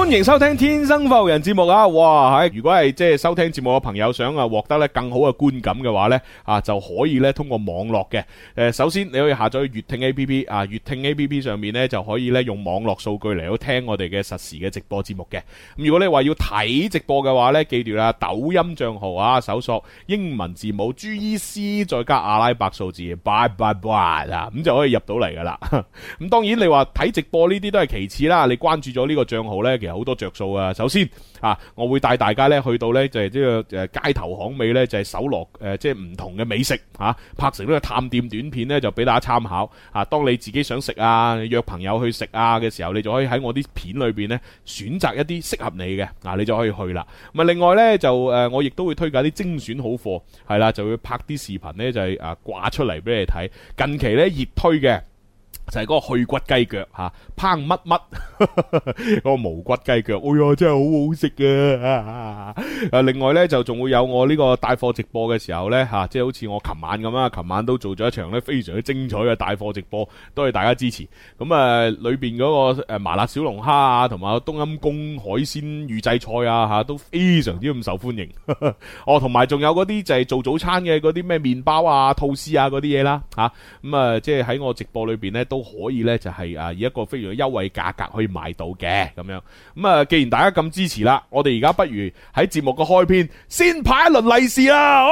歡迎收聽《天生發育人》節目啊！哇，如果係即係收聽節目嘅朋友想啊獲得咧更好嘅觀感嘅話咧啊，就可以咧通過網絡嘅。首先你可以下載粵聽 A P P 啊，粵聽 A P P 上面咧就可以咧用網絡數據嚟到聽我哋嘅實時嘅直播節目嘅。咁如果你話要睇直播嘅話咧，記住啦，抖音賬號啊，搜索英文字母 GEC 再加阿拉伯數字，bye bye bye 啊，咁就可以入到嚟噶啦。咁當然你話睇直播呢啲都係其次啦，你關注咗呢個賬號咧，其實好多着數啊。首先啊，我會帶大家咧去到咧就係呢個街頭巷尾咧就係搜羅即係唔同嘅美食啊，拍成呢個探店短片咧就俾大家參考啊。當你自己想食啊，約朋友去食啊嘅時候，你就可以喺我啲片裏邊咧選擇一啲適合你嘅啊，你就可以去啦。咁啊，另外咧就我亦都會推介啲精選好貨，係啦，就會拍啲視頻咧就係掛出嚟俾你睇。近期咧熱推嘅就係嗰個去骨雞腳吓，烹乜乜嗰個無骨雞腳，哎呀真係好好食啊！另外呢，就仲會有我呢個帶貨直播嘅時候呢，吓，即係好似我琴晚咁啦，琴晚都做咗一場呢非常之精彩嘅帶貨直播，多謝大家支持。咁裏邊嗰個麻辣小龍蝦啊，同埋冬陰功海鮮預製菜啊吓，都非常之咁受歡迎。哦，同埋仲有嗰啲就係做早餐嘅嗰啲咩麵包啊、吐司啊嗰啲嘢啦吓，咁即係喺我直播裏邊呢。都可以咧，就係以一個非常優惠價格可以買到嘅咁樣。咁既然大家咁支持啦，我哋而家不如喺節目嘅開篇先派一輪利是啦！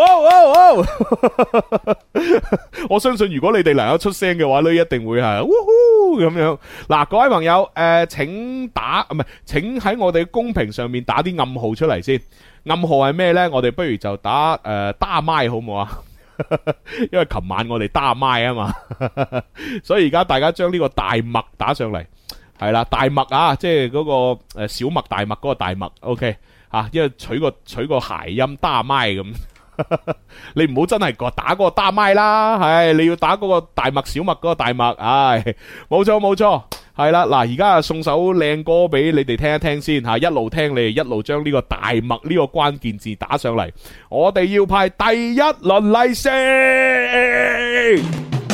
我相信如果你哋能夠出聲嘅話咧，一定會係嗚呼咁樣。嗱，各位朋友，請喺我哋公屏上面打啲暗號出嚟先。暗號係咩呢？我哋不如就打打麥好唔好啊？因為琴晚我哋打麥啊嘛，所以而家大家將呢個大麥打上嚟，係啦，大麥啊，即係嗰個小麥大麥嗰個大麥 ，OK 啊，因為取個諧音打麥咁，你唔好真係打嗰個打麥啦，係你要打嗰個大麥小麥嗰個大麥，唉，冇錯冇錯。係啦，嗱，而家送首靚歌俾你哋聽一聽先吓，一路聽你哋一路將呢個大麥呢個關鍵字打上嚟，我哋要派第一輪利是。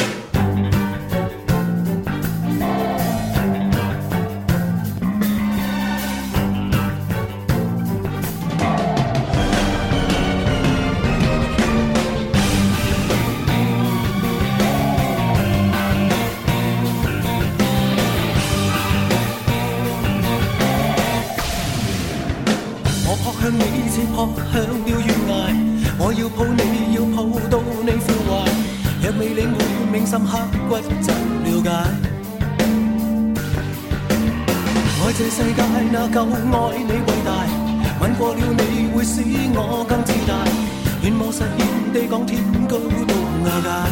向你似撲向了懸崖，我要抱你，要抱到你腐壞，若未領會銘心刻骨怎了解？愛這世界那夠愛你偉大，吻過了你會使我更自大，願望實現地講天高到瓦解，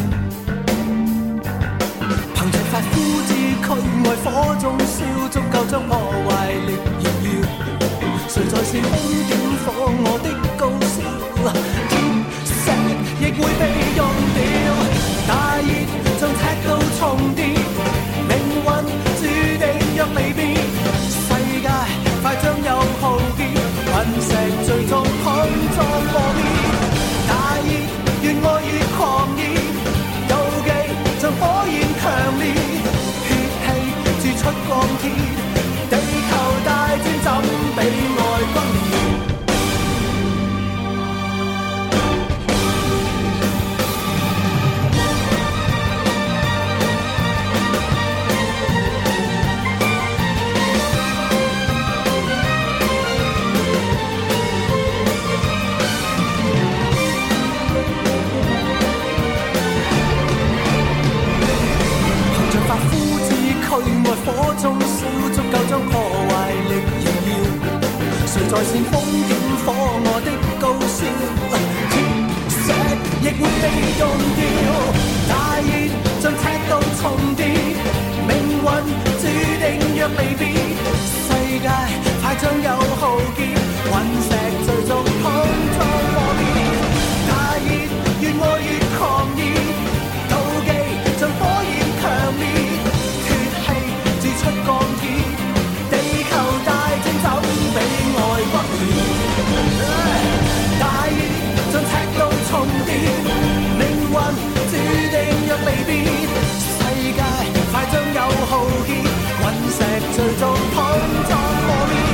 憑着發膚之軀愛火中燒，足夠將破壞力燃耀。誰在煽風點火我的高燒？鐵石亦會被用掉，大熱像赤道重疊，命運注定若未變，世界快將有浩劫，隕石最終碰撞破滅，大熱越愛越狂熱，妒忌像火焰強烈，血氣鑄出鋼鐵，地球大戰怎比愛轟烈？憑着發膚之軀愛火中燒，足夠將破壞力燃耀。誰在煽風點火我的高燒？鐵石亦會被用掉，大熱像赤道重疊，命運注定若未變，世界快將有浩劫，隕石最終碰撞破滅，大熱越愛越狂熱，妒忌像火焰強烈，血氣鑄出鋼鐵，地球大戰怎比愛轟烈？大熱像赤道重疊，命運注定若未變，世界快將有浩劫，隕石最終碰撞破滅。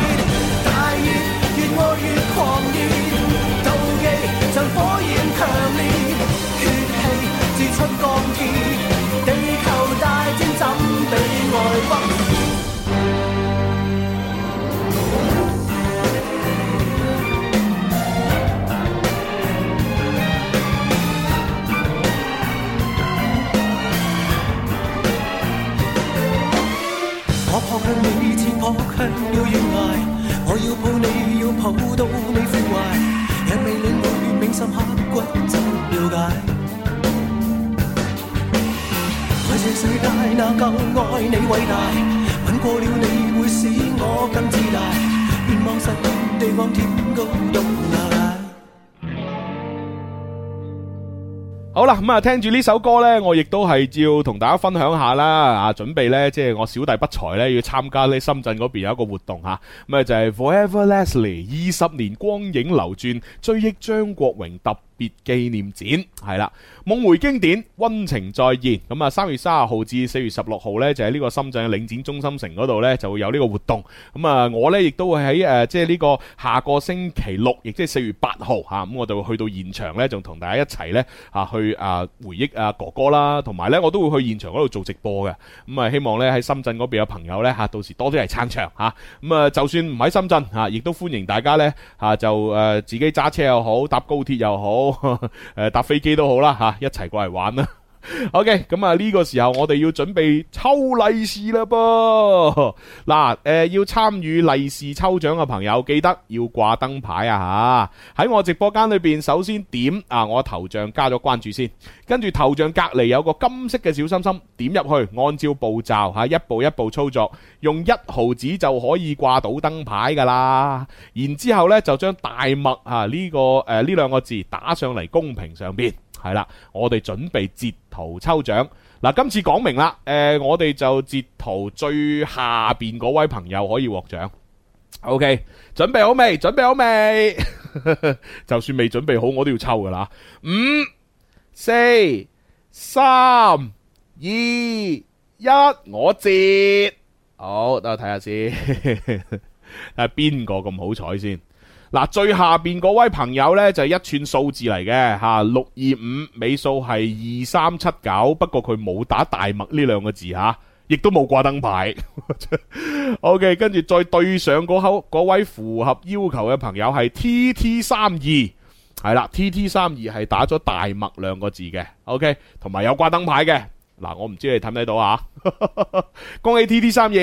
撲向了懸崖，我要抱你，要抱到你枯壞，若未領會銘心刻骨怎了解？在這世界哪夠愛你偉大？吻過了你會使我更自大，願望實現地望天高到哪裡？ 好啦，咁啊，聽住呢首歌呢，我亦都係要同大家分享下啦，啊，準備呢，即係我小弟不才呢，要參加呢深圳嗰邊有一個活動吓，咁啊就係 Forever Leslie 20年光影流轉，追憶張國榮特別紀念展，係啦，夢回經典，溫情再現。咁啊，3月30號至4月16號呢，就喺呢個深圳嘅領展中心城嗰度呢，就會有呢個活動。咁啊，我呢亦都會喺即係呢個下個星期六，亦即係4月8號吓，咁我就會去到現場呢，仲同大家一齊呢去回憶哥哥啦，同埋呢我都會去現場嗰度做直播嘅。咁啊，希望呢喺深圳嗰邊嘅朋友呢，到時多啲嚟撐場吓。咁啊，就算唔喺深圳亦都歡迎大家呢，就自己揸車又好，搭高鐵又好，搭飛機都好啦一齊過嚟玩啦。OK， 咁啊呢個時候我哋要準備抽利是啦噃。嗱，要參與利是抽獎嘅朋友，記得要掛燈牌啊吓！喺我直播間裏邊，首先點我頭像加咗關注先，跟住頭像隔籬有個金色嘅小心心，點入去，按照步驟一步一步操作，用1毫紙就可以掛到燈牌噶啦。然之後呢就將大麥呢兩個字打上嚟公屏上邊。係啦，我哋準備截圖抽獎。嗱，今次講明啦，我哋就截圖最下邊嗰位朋友可以獲獎。OK， 準備好未？準備好未？就算未準備好，我都要抽噶啦。5、4、3、2、1，我截。好，等我睇下先，睇下邊個咁好彩先。嗱，最下邊嗰位朋友呢，就係一串數字嚟嘅625，尾數係2379，不過佢冇打大麥呢兩個字亦都冇掛燈牌。OK， 跟住再對上嗰位符合要求嘅朋友係 TT32，係啦 ，TT32 係打咗大麥兩個字嘅。OK， 同埋有掛燈牌嘅。嗱，我唔知你睇唔睇到恭喜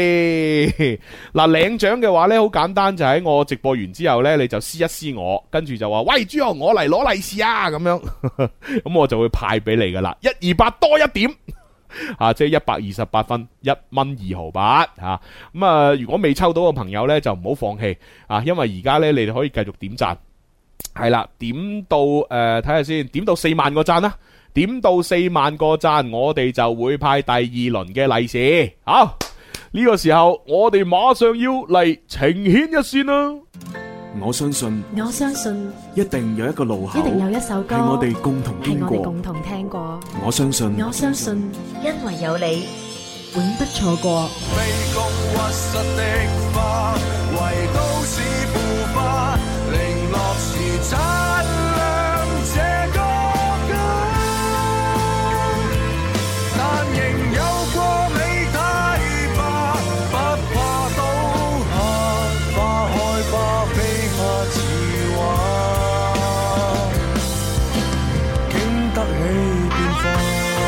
TT32。嗱，領獎嘅話呢，好簡單，就喺我直播完之後呢，你就私一私我，跟住就話喂朱紅，我嚟攞利是啊咁樣，咁我就會派俾你噶啦，128多一點即係128分，1蚊2毫8咁啊，如果未抽到嘅朋友呢，就唔好放棄因為而家呢，你哋可以繼續點讚，係啦，點到睇下先，點到4萬個讚啦。點到4萬個讚，我哋就會派第2輪嘅利是。好，呢個時候我哋馬上要嚟情牽一線啦。 我相信一定有一個路口， 一定有一首歌係我哋共同經過， 共同聽過。 我相信因為有你，永不錯過。 卑躬屈膝的花，為都市腐化，零落時擦亮這個但仍有過美太吧，不怕倒下，花開吧，非怕自華，經得起變化。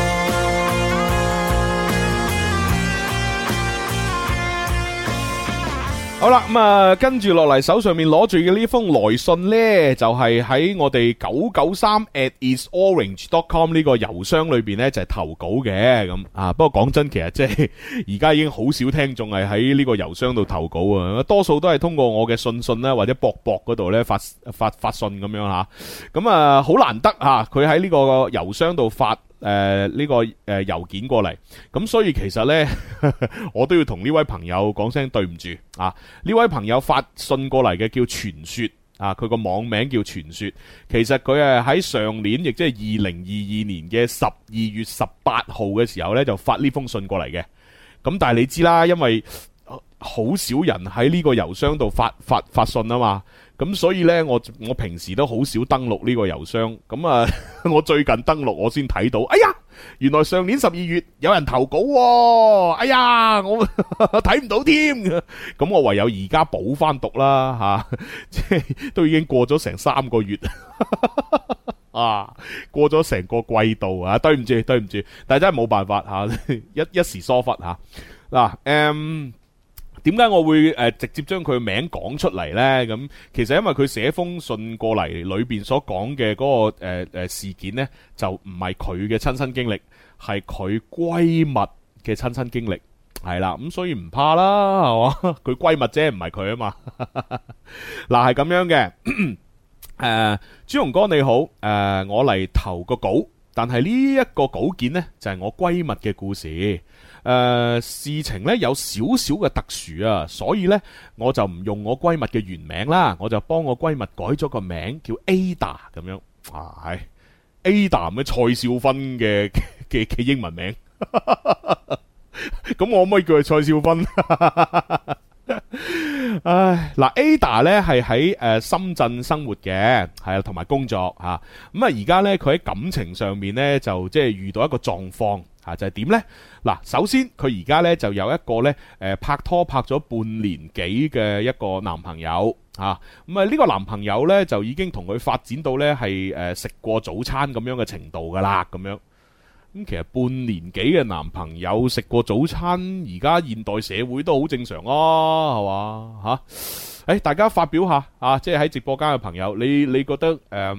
好啦，咁啊，跟住落嚟手上面攞住嘅呢封來信呢，就係喺我哋993@isorange.com 呢個郵箱裏邊呢，就係投稿嘅咁不過講真，其實即係而家已經好少聽眾係喺呢個郵箱度投稿啊，多數都係通過我嘅信啦或者博嗰度呢發信咁樣吓，咁啊好難得佢喺呢個郵箱度發呢個郵件過嚟，咁所以其實呢，我都要同呢位朋友講聲對唔住呢位朋友發信過嚟嘅叫傳說佢個網名叫傳說，其實佢係喺上年，亦即係2022年嘅12月18號嘅時候呢，就發呢封信過嚟嘅。咁但係你知啦，因為好少人喺呢個郵箱度發信啊嘛。咁所以呢，我平時都好少登錄呢個郵箱。咁我最近登錄我先睇到，哎呀，原來上年12月有人投稿喎，哎呀，我睇唔到添。咁我唯有而家補翻讀啦，即係都已經過咗成3個月過咗成個季度啊，對唔住，但係真係冇辦法一時疏忽嗱， 點解我會直接將佢名講出嚟呢？咁其實因為佢寫封信過嚟，裏邊所講嘅嗰個事件呢，就唔係佢嘅親身經歷，係佢閨蜜嘅親身經歷，係啦，咁所以唔怕啦，係嘛？佢閨蜜啫，唔係佢啊嘛。嗱，係咁樣嘅。朱紅哥你好，我嚟投個稿，但係呢一個稿件呢，就係我閨蜜嘅故事。事情呢有少少嘅特殊啊，所以呢，我就唔用我閨蜜嘅原名啦，我就幫我閨蜜改咗個名叫 Ada 咁樣。係 Ada 咩？蔡少芬嘅英文名。咁我可唔可以叫佢蔡少芬？唉，嗱 Ada 咧係喺深圳生活嘅，係啊，同埋工作吓。咁啊而家咧佢喺感情上面咧就即係遇到一個狀況吓，就係點咧？嗱，首先佢而家咧就有一個咧拍拖拍咗半年幾嘅一個男朋友吓。咁啊呢個男朋友咧就已經同佢發展到咧係食過早餐咁樣嘅程度噶啦，咁樣。咁其實半年幾嘅男朋友食過早餐，而家現代社會都好正常啊，係嘛吓？大家發表下啊，即係喺直播間嘅朋友，你覺得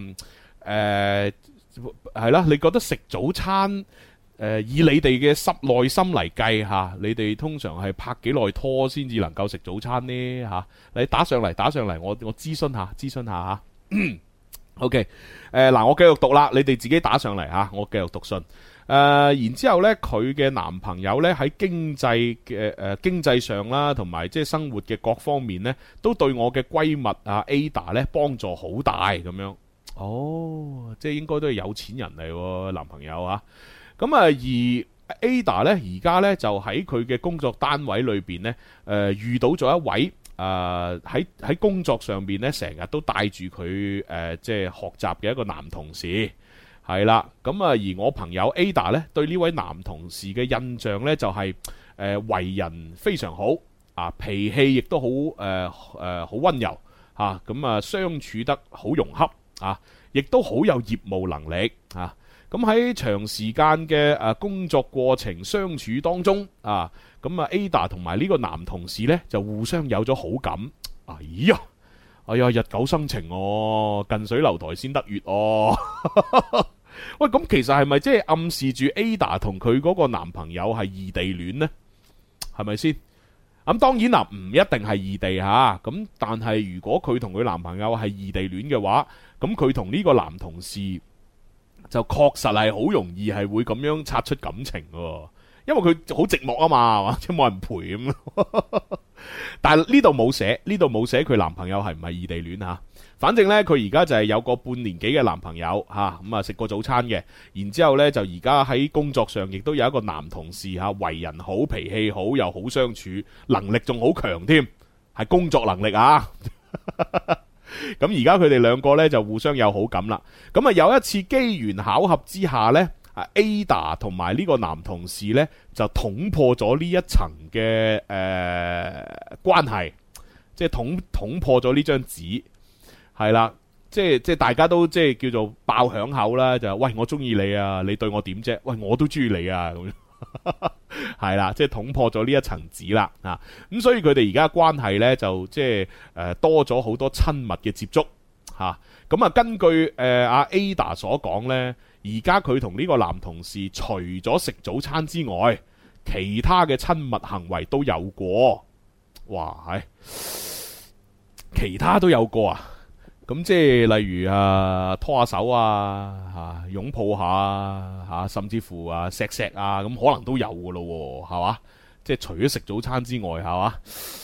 係啦，你覺得食早餐以你哋嘅內心嚟計吓，你哋通常係拍幾耐拖先至能夠食早餐呢吓？你打上嚟，我諮詢下吓。OK， 嗱，我繼續讀啦，你哋自己打上嚟吓，我繼續讀信。然之後咧，佢嘅男朋友咧喺經濟上啦，同埋即係生活嘅各方面咧，都對我嘅閨蜜啊 Ada 咧幫助好大咁樣。哦，即係應該都係有錢人嚟，男朋友啊。咁啊，而 Ada 咧而家咧就喺佢嘅工作單位裏邊咧，遇到咗一位喺工作上邊咧成日都帶住佢即係學習嘅一個男同事。係啦，咁啊，而我朋友 Ada 咧，對呢位男同事嘅印象咧就係為人非常好啊，脾氣亦都好好溫柔啊，咁啊相處得好融洽啊，亦都好有業務能力啊。咁喺長時間嘅工作過程相處當中啊，咁啊 Ada 同埋呢個男同事咧就互相有咗好感。哎呀，日久生情哦，近水樓台先得月哦。喂，咁其實係咪即係暗示住 Ada 同佢嗰個男朋友係異地戀呢？係咪先？咁當然啦，唔一定係異地吓。咁但係如果佢同佢男朋友係異地戀嘅話，咁佢同呢個男同事就確實係好容易係會咁樣擦出感情嘅。因為佢好寂寞啊嘛，係嘛，即係冇人陪咁。但係呢度冇寫佢男朋友係唔係異地戀吓。反正呢，佢而家就係有個半年幾嘅男朋友吓，咁啊食過早餐嘅。然之後呢就而家喺工作上亦都有一個男同事吓，為人好，脾氣好，又好相處，能力仲好強添，係工作能力啊。咁而家佢哋兩個呢就互相有好感啦。咁啊有一次機緣巧合之下呢。Ada 同埋呢個男同事呢，就捅破咗呢一層嘅關係，即係捅破咗呢張紙，係啦，即係大家都即係叫做爆響口啦，就喂我中意你啊，你對我點啫？喂我都中意你啊，咁樣係啦，即係捅破咗呢一層紙啦啊！咁所以佢哋而家關係呢，就即係多咗好多親密嘅接觸吓。咁啊，根據阿 Ada 所講呢。而家佢同呢個男同事除咗食早餐之外，其他嘅親密行為都有過。哇，係其他都有過啊！咁即係例如拖下手啊，擁抱下啊，甚至乎錫錫啊，咁可能都有噶咯，係嘛？即係除咗食早餐之外，係嘛？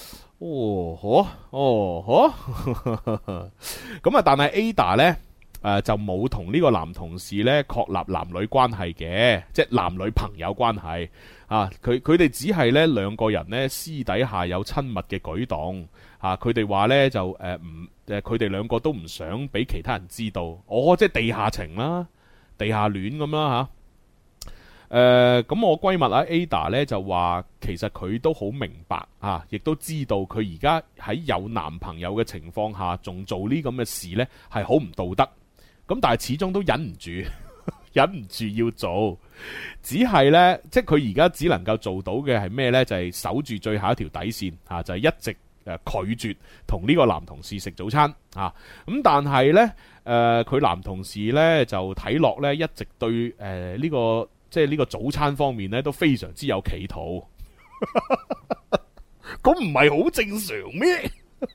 咁啊，但係 Ada 呢。就冇同呢個男同事呢確立男女關係嘅，即係男女朋友關係啊！佢哋只係呢兩個人呢私底下有親密嘅舉動啊！佢哋話呢就佢哋兩個都唔想俾其他人知道，即係地下情啦，地下戀咁啦吓。咁我閨蜜Ada 呢就話，其實佢都好明白啊，亦都知道佢而家喺有男朋友嘅情況下，仲做呢咁嘅事呢係好唔道德。咁但係始終都忍唔住， 忍唔住要做。只係呢，即係佢而家只能夠做到嘅係咩呢？就係守住最後一條底線啊，就係一直拒絕同呢個男同事食早餐啊。咁但係呢，佢男同事呢就睇落呢，一直對呢個即係呢個早餐方面呢都非常之有企圖。咁唔係好正常咩？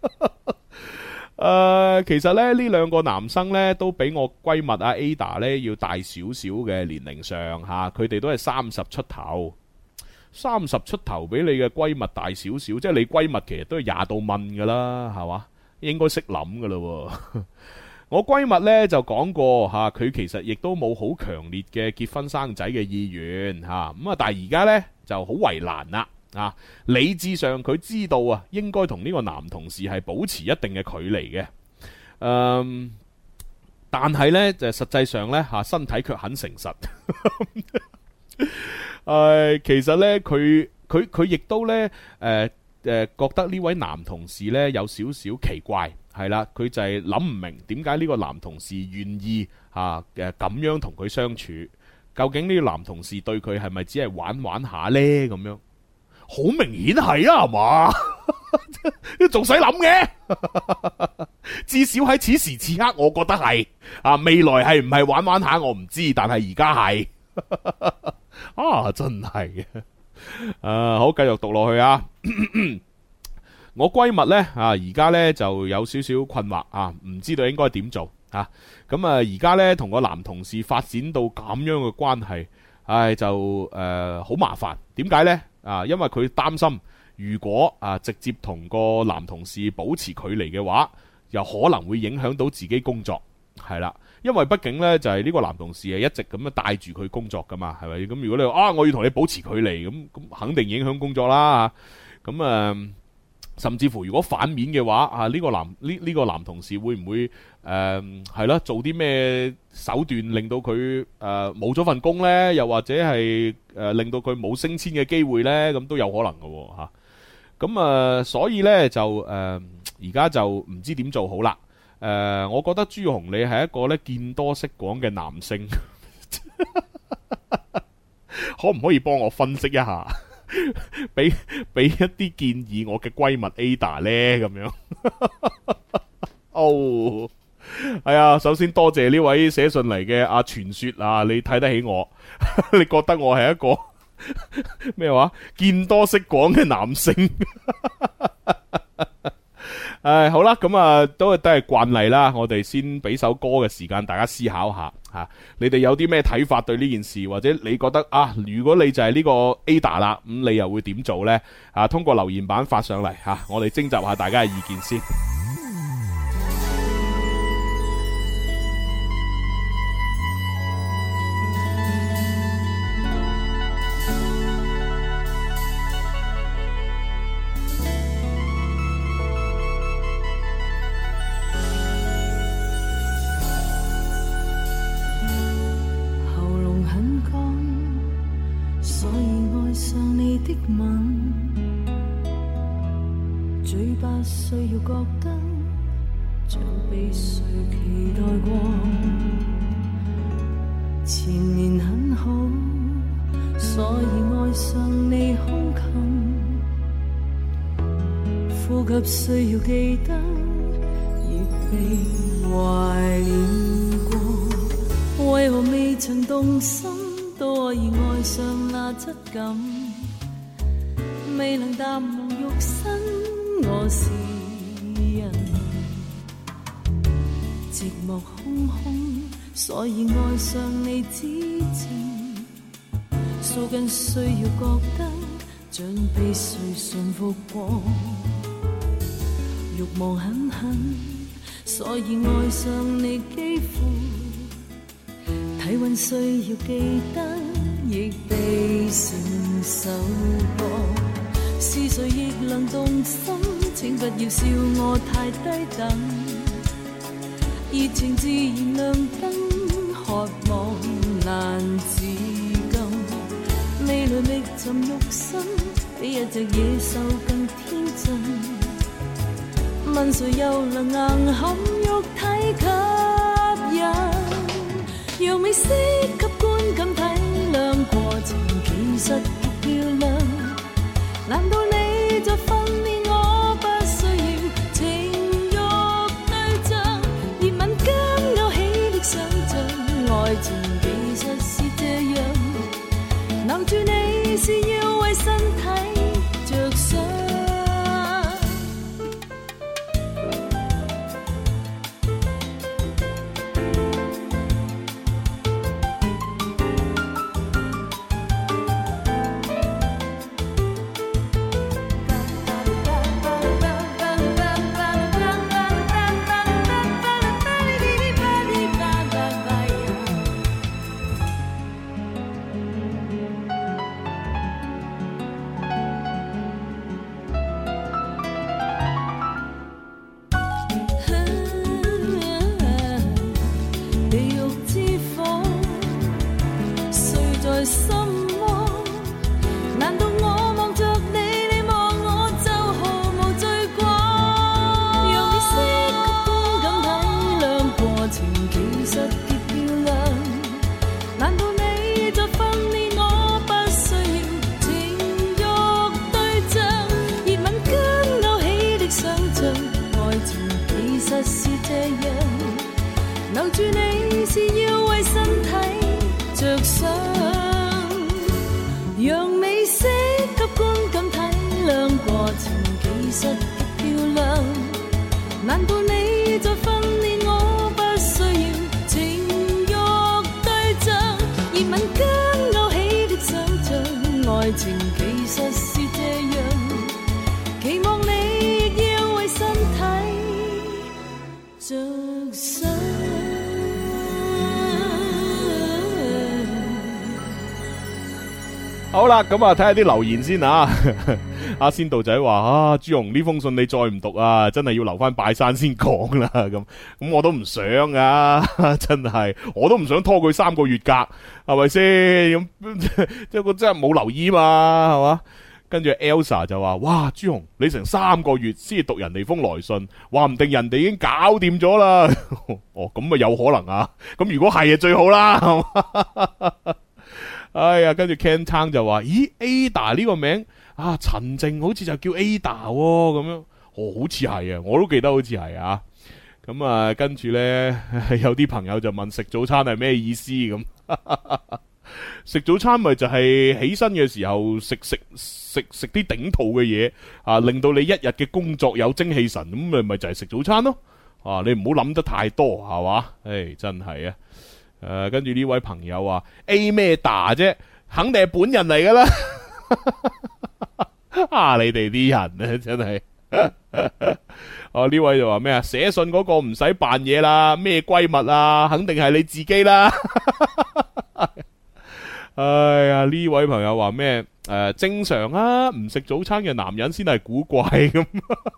其實咧呢兩個男生咧都比我閨蜜阿 Ada 咧要大少少嘅年齡上吓，佢哋都係30出頭，30出頭比你嘅閨蜜大少少，即係你閨蜜其實都係20到問噶啦，係嘛？應該識諗噶啦。我閨蜜咧就講過吓，佢其實亦都冇好強烈嘅結婚生仔嘅意願吓，咁啊但係而家咧就好為難啦。啊，理智上佢知道啊，應該同呢個男同事係保持一定嘅距離嘅，但係呢，就實際上呢，身體卻很誠實。其實呢，佢亦都呢，覺得呢位男同事呢有少少奇怪，係啦，佢就係諗唔明點解呢個男同事願意咁樣同佢相處，究竟呢個男同事對佢係咪只係玩玩下呢？咁樣？好明顯係啊，係嘛？仲使諗嘅？至少喺此時此刻，我覺得係啊。未來係唔係玩玩下，我唔知，但係而家係啊，真係嘅。好，繼續讀落去啊。我閨蜜呢，而家呢就有少少困惑啊，唔知道應該點做啊。咁而家呢，同個男同事發展到咁樣嘅關係，就好麻煩。點解呢？因為佢擔心，如果直接同個男同事保持距離嘅話，又可能會影響到自己工作，係啦。因為畢竟呢，就係呢個男同事係一直咁樣帶住佢工作噶嘛，係咪？咁如果你話我要同你保持距離，咁肯定影響工作啦。咁甚至乎如果反面嘅話，呢個男同事會唔會係啦，做啲咩手段令到佢冇咗份工呢？又或者係令到佢冇升遷嘅機會呢？咁都有可能嘅吓。咁所以呢，就而家就唔知點做好啦。我覺得朱紅你係一個咧見多識廣嘅男性，可唔可以幫我分析一下？俾一啲建議我嘅閨蜜 Ada 呢？咁樣。哦，係啊，首先多謝呢位寫信嚟嘅阿傳說啊，你睇得起我，你覺得我係一個咩話見多識廣嘅男性？好啦，咁都係慣例啦，我哋先俾首歌嘅時間大家思考下吓，你哋有啲咩睇法對呢件事，或者你覺得如果你就係呢個 Ada 啦，咁你又會點做呢？通過留言板發上嚟吓，我哋徵集下大家嘅意見先。 需要覺得像被誰期待過，前面很好，所以愛上你胸襟，呼吸需要記得，亦被懷念過，為何未曾動心都可以愛上那質感，未能淡忘肉身我是人，寂寞空空，所以愛上你之前，數根需要覺得像被誰馴服過，慾望狠狠，所以愛上你肌膚，體溫需要記得，亦被承受過。是誰亦能動心，請不要笑我太低等，熱情自然亮燈，渴望難自禁，未來覓尋肉身，比一隻野獸更天真，問誰又能硬撼肉體吸引， 讓美色給觀感體諒過程，其實極漂亮。難道你在訓練我不需要情慾對象？熱吻間勾起的想像，愛情其實是這樣，留住你是要為身體着想。留住你是要為身體着想，讓美色給觀感體諒過程，其實極漂亮。難道你在訓練我不需要情慾對象？熱吻間勾起的想像，愛情其實是這樣，期望你亦要為身體着想。 好啦，咁啊睇下啲留言先啊。阿仙道仔話啊，朱紅呢封信你再唔讀啊，真係要留翻拜山先講啦。咁我都唔想啊，真係我都唔想拖佢3個月格，係咪先？咁即係我真係冇留意嘛，係嘛？跟住 Elsa 就話：哇，朱紅你成3個月先讀人哋封來信，話唔定人哋已經搞掂咗啦。哦，咁啊有可能啊。咁如果係啊最好啦，係嘛？哎呀，跟住 Ken Tang 就話：咦 ，Ada 呢個名啊，陳靜好似就叫 Ada 咁樣，好似係啊，我都記得好似係啊。咁啊，跟住呢，有啲朋友就問食早餐係咩意思咁？食早餐咪就係起身嘅時候食啲頂肚嘅嘢啊，令到你一日嘅工作有精氣神，咁咪就係食早餐咯。啊，你唔好諗得太多，係嘛？唉，真係啊。跟住呢位朋友話 A 咩打啫，肯定係本人嚟噶啦。啊，你哋啲人咧真係。哦，呢位就話咩啊？寫信嗰個唔使扮嘢啦，咩閨蜜啊，肯定係你自己啦。哎呀，呢位朋友話咩？正常啊，唔食早餐嘅男人先係古怪咁。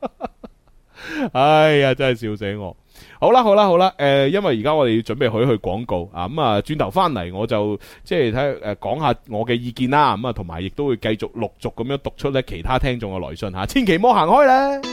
哎呀，真係笑死我！好啦，因為而家我哋要準備去廣告啊，咁啊轉頭翻嚟我就即係睇講下我嘅意見啦，咁啊同埋亦都會繼續陸續咁樣讀出咧其他聽眾嘅來信吓，千祈唔好行開咧。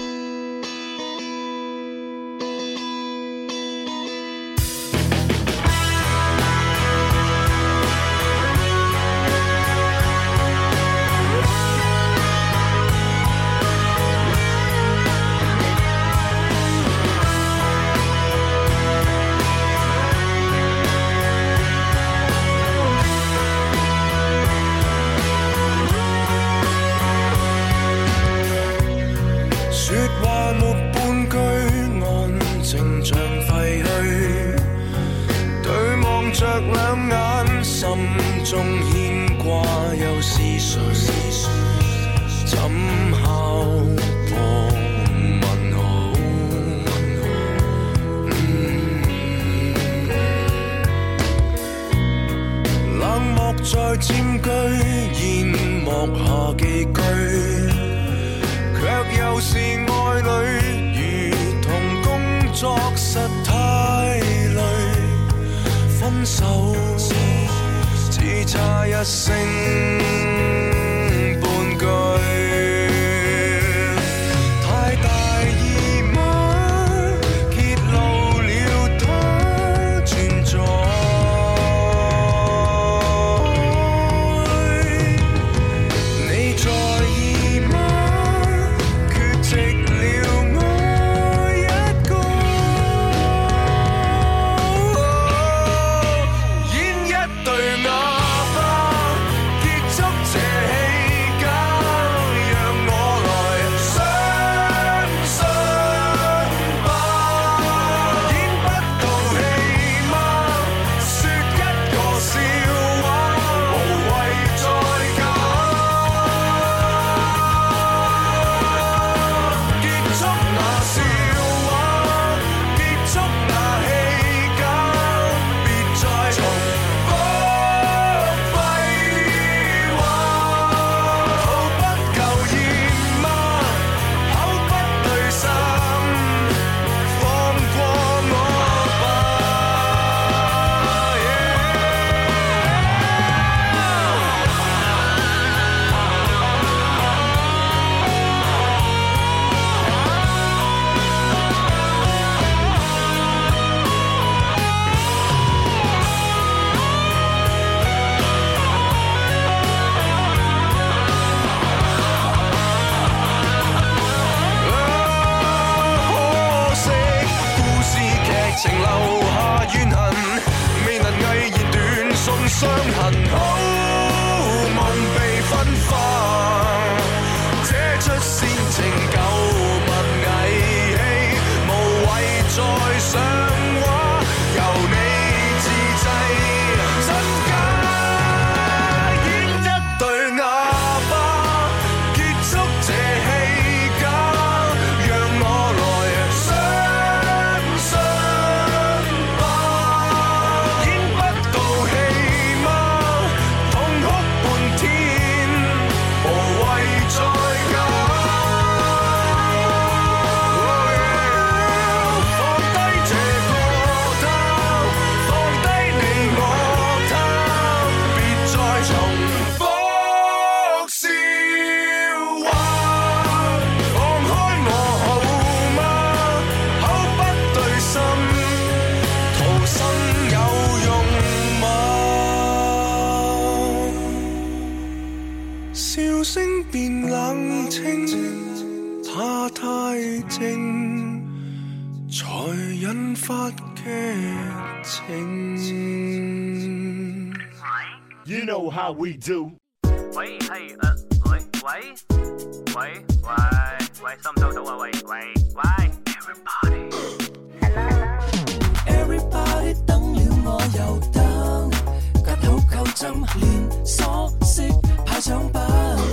聲變冷清，它太靜，才引發劇情。 You know how we do。 喂，係喂，收唔收到啊？喂 Everybody 等了我又等，吉好夠針，連鎖式派獎品。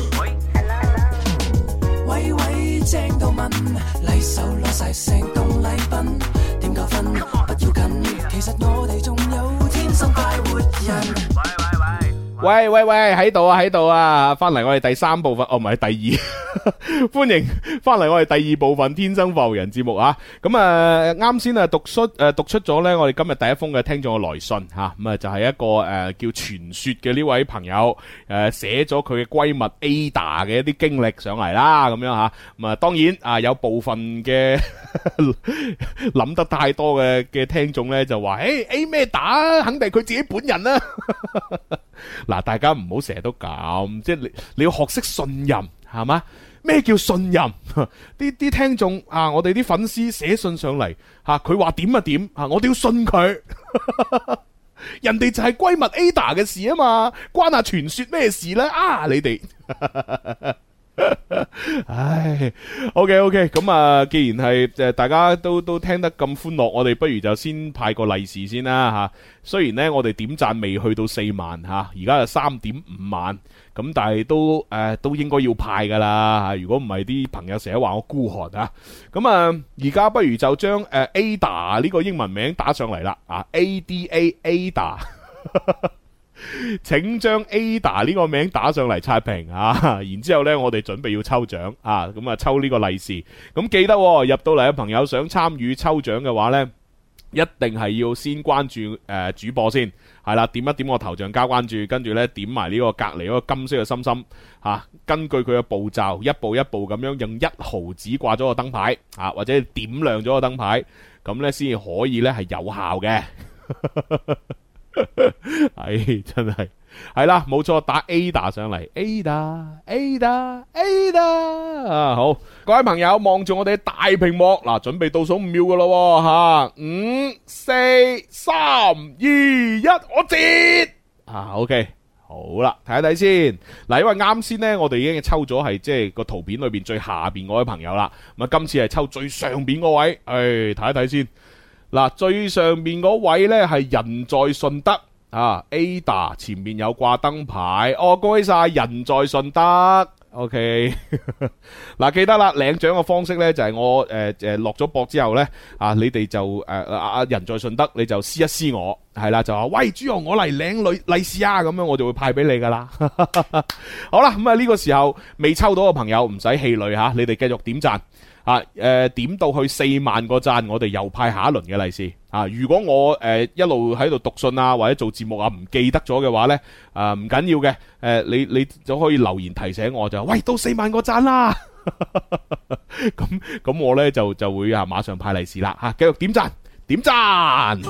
喂，正到問，禮手攞晒成棟禮品，點夠分不要緊，其實我哋仲有天生快活人。 喂，喺度啊！翻嚟我哋第三部分，唔係第二，歡迎翻嚟我哋第二部分《天生浮人》節目啊！咁啊，啱先啊讀出咗呢，我哋今日第一封嘅聽眾嘅來信吓，咁啊就係一個叫傳說嘅呢位朋友寫咗佢嘅閨蜜 Ada 嘅一啲經歷上嚟啦，咁樣吓，咁啊當然啊有部分嘅諗得太多嘅聽眾呢，就話A 咩打，肯定係佢自己本人啦。嗱，大家唔好成日都咁，即係你要學識信任，係嘛？咩叫信任？啲聽眾啊，我哋啲粉絲寫信上嚟吓，佢話點啊點啊，我哋要信佢。人哋就係閨蜜 Ada 嘅事啊嘛，關下傳說咩事呢？啊，你哋。唉 ，OK， 咁啊，既然係大家都聽得咁歡樂，我哋不如就先派個利是先啦吓。雖然呢，我哋點讚未去到4萬吓，而家係3.5萬，咁但係都應該要派噶啦吓。如果唔係，啲朋友成日話我孤寒啊。咁啊，而家不如就將Ada 呢個英文名打上嚟啦啊 ，Ada。請將 Ada 呢個名打上嚟刷屏啊！然之後呢，我哋準備要抽獎啊！咁啊，抽呢個利是。咁記得入到嚟嘅朋友想參與抽獎嘅話呢，一定係要先關注主播先，係啦，點一點我頭像加關注，跟住呢點埋呢個隔離嗰個金色嘅心心啊，根據佢嘅步驟，一步一步咁樣用1毫紙掛咗個燈牌啊，或者點亮咗個燈牌，咁呢先可以呢係有效嘅。係真係係啦，冇錯，打 Ada 上嚟 ，Ada 啊，好，各位朋友望住我哋大屏幕嗱，準備倒數5秒噶咯吓，5、4、3、2、1，我接啊 ，OK， 好啦，睇一睇先嗱，因為啱先呢，我哋已經抽咗係即係個圖片裏邊最下邊嗰位朋友啦，咁啊今次係抽最上邊嗰位，睇一睇先。嗱，最上面嗰位呢係人在順德啊 ，Ada 前面有掛燈牌，恭喜晒人在順德 ，OK 嗱，記得啦，領獎嘅方式呢就係我落咗播之後呢，啊，你哋就人在順德，你就私一私我，係啦，就話喂朱紅我嚟領利是啊，咁樣我就會派俾你噶啦。好啦，咁啊呢個時候未抽到嘅朋友唔使氣餒吓，你哋繼續點讚。點到去4萬個讚，我哋又派下一輪嘅利是啊！如果我一路喺度讀信啊，或者做節目啊，唔記得咗嘅話呢，唔緊要嘅，你就可以留言提醒我，就喂到4萬個讚啦！咁我呢就會馬上派利是啦吓，繼續點讚點讚。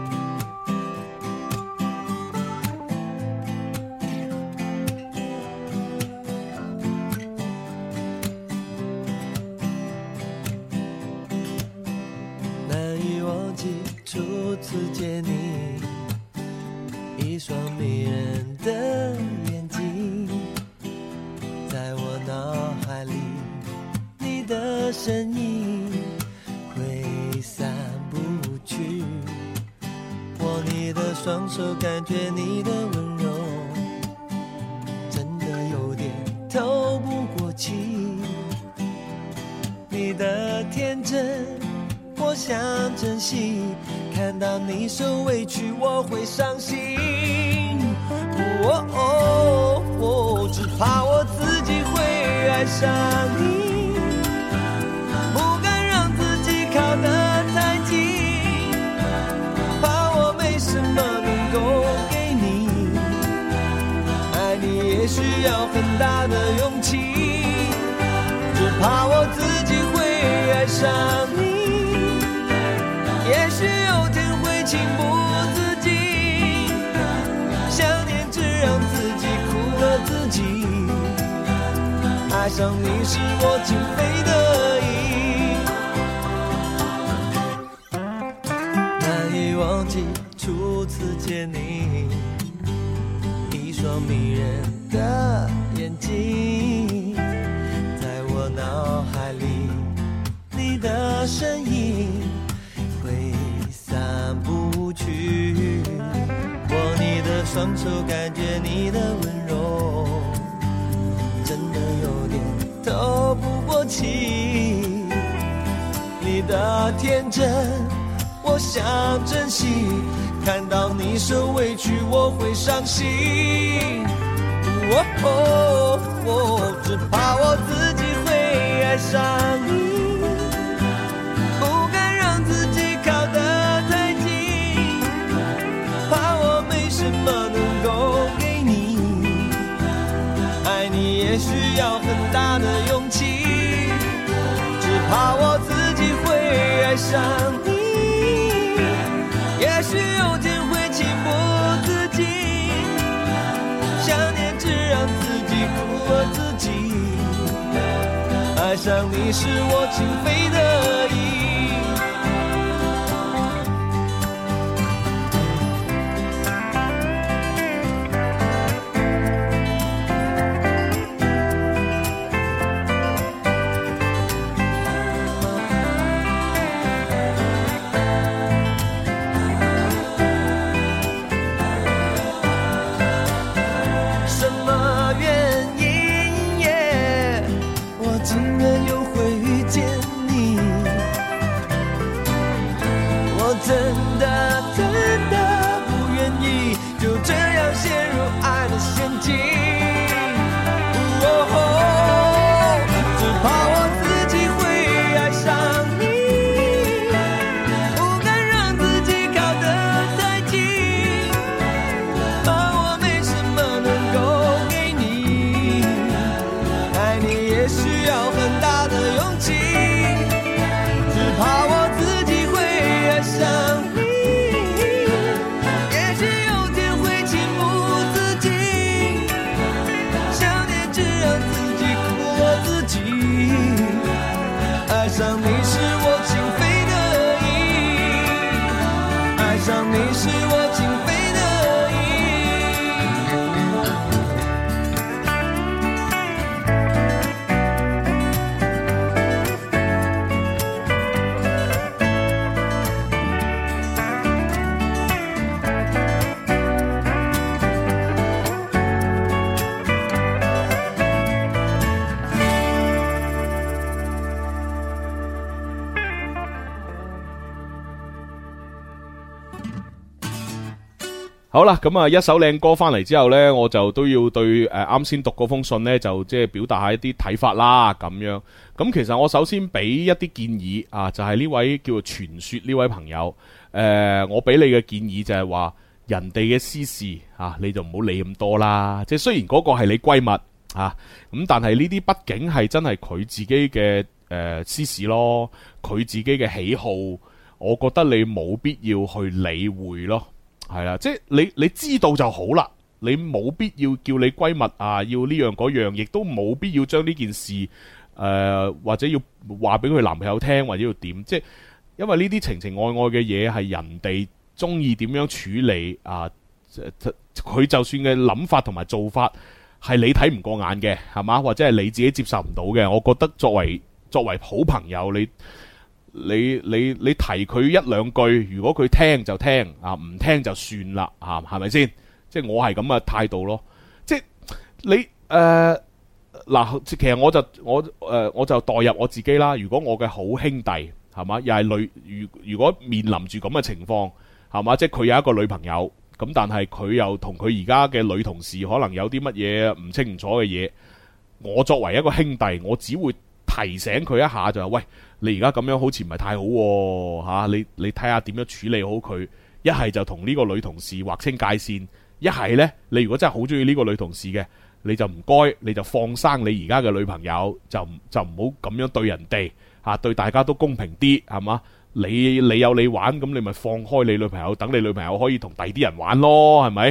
初次见你，一双迷人的眼睛，在我脑海里，你的身影挥散不去。握你的双手，感觉你的温柔，真的有点透不过气。你的天真，我想珍惜。看到你受委屈，我会伤心。只怕我自己会爱上你，不敢让自己靠得太近，怕我没什么能够给你。爱你也需要很大的勇气，只怕我自己会爱上你。也许有天会情不自禁，想念只让自己苦了自己。 爱上你是我情非得已，难以忘记初次见你，一双迷人的眼睛，在我脑海里，你的身影挥散不去，握你的双手，感觉你的温柔，真的有点透不过气，你的天真我想珍惜，看到你受委屈我会伤心，只怕我自己会爱上你，不敢让自己靠得太近，怕我没什么能够给你，爱你也需要很大的勇气，只怕我自己会爱上你，也许有天会情不自禁，想念只让自己苦了自己，爱上你是我情非得已。 好啦，咁啊一首靚歌翻嚟之後呢，我就都要對啱先讀嗰封信呢，就即係表達下一啲睇法啦，咁樣。咁其實我首先俾一啲建議啊，就係呢位叫做傳說呢位朋友，我俾你嘅建議就係話，人哋嘅私事啊，你就唔好理咁多啦。即係雖然嗰個係你閨蜜啊，咁但係呢啲畢竟係真係佢自己嘅私事咯，佢自己嘅喜好，我覺得你冇必要去理會咯。係啦，即係你知道就好啦，你冇必要叫你閨蜜啊，要呢樣嗰樣，亦都冇必要將呢件事或者要話俾佢男朋友聽，或者要點，即係因為呢啲情情愛愛嘅嘢係人哋中意點樣處理啊，佢就算嘅諗法同埋做法係你睇唔過眼嘅，係嘛，或者係你自己接受唔到嘅，我覺得作為好朋友，你提佢一兩句，如果佢聽就聽啊，唔聽就算啦啊，係咪先？即係我係咁嘅態度咯。即係你嗱，其實我就代入我自己啦。如果我嘅好兄弟係嘛，又係如果面臨住咁嘅情況係嘛，即係佢有一個女朋友咁，但係佢又同佢而家嘅女同事可能有啲乜嘢唔清唔楚嘅嘢，我作為一個兄弟，我只會提醒佢一下，就係喂，你而家咁樣好似唔係太好喎，你睇下點樣處理好佢。一係就同呢個女同事劃清界線，一係呢，你如果真係好中意呢個女同事嘅，你就唔該，你就放生你而家嘅女朋友，就唔好咁樣對人哋嚇，對大家都公平啲係嘛？你有你玩，咁你咪放開你女朋友，等你女朋友可以同第啲人玩咯，係咪？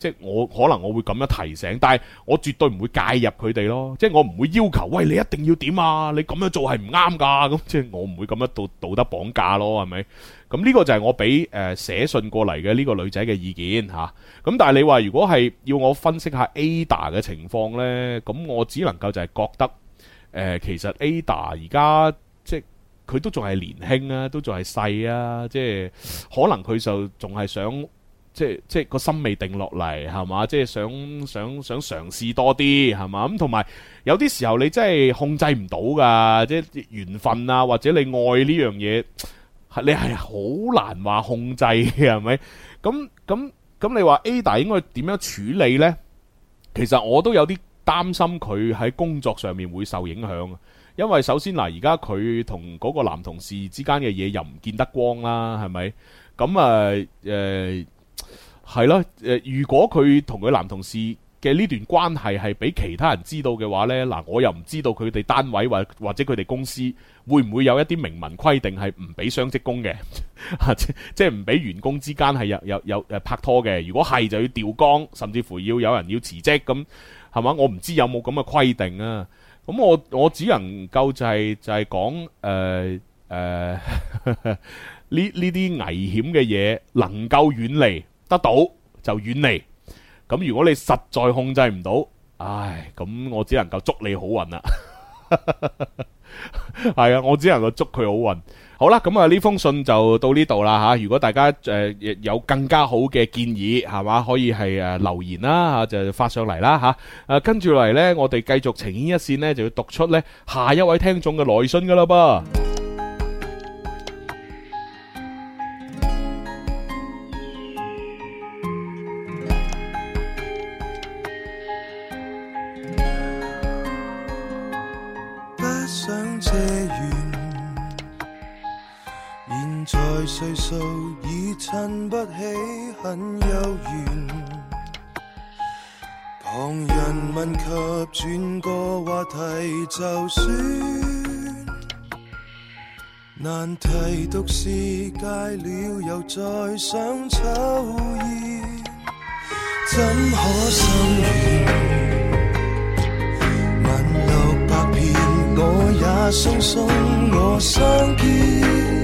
即係我可能我會咁樣提醒，但係我絕對唔會介入佢哋咯。即係我唔會要求，喂，你一定要點啊？你咁樣做係唔啱㗎。咁即係我唔會咁樣道德綁架咯，係咪？咁呢個就係我俾寫信過嚟嘅呢個女仔嘅意見嚇。咁但係你話如果係要我分析下 Ada 嘅情況呢，咁我只能夠就係覺得其實 Ada 而家即係佢都仲係年輕啊，都仲係細啊，即係可能佢就仲係想。即係個心未定落嚟，係嘛？即係想嘗試多啲，係嘛？咁同埋有啲時候你真係控制唔到噶，即係緣分啊，或者你愛呢樣嘢，你係好難話控制嘅，係咪？咁你話 Ada 應該點樣處理呢？其實我都有啲擔心佢喺工作上面會受影響，因為首先嗱，而家佢同嗰個男同事之間嘅嘢又唔見得光啦，係咪？咁係咯，如果佢同佢男同事嘅呢段關係係俾其他人知道嘅話呢，嗱，我又唔知道佢哋單位或者佢哋公司會唔會有一啲明文規定係唔俾雙職工嘅，即係唔俾員工之間係有拍拖嘅。如果係就要調崗，甚至乎要有人要辭職咁，係嘛？我唔知有冇咁嘅規定啊。咁我只能夠就係講呢啲危險嘅嘢能夠遠離得到就遠離，咁如果你實在控制唔到，唉，咁我只能夠祝你好運啦。係啊，我只能夠祝佢好運。好啦，咁啊呢封信就到呢度啦吓。如果大家有更加好嘅建議，係嘛，可以係留言啦吓，就發上嚟啦吓。跟住嚟呢，我哋繼續情牽一線呢，就要讀出呢下一位聽眾嘅來信噶啦噃。 歲數已襯不起很幽怨，旁人問及轉個話題就算，難題獨是戒了又再想抽煙，怎可心軟？問600遍我也鬆鬆我相見，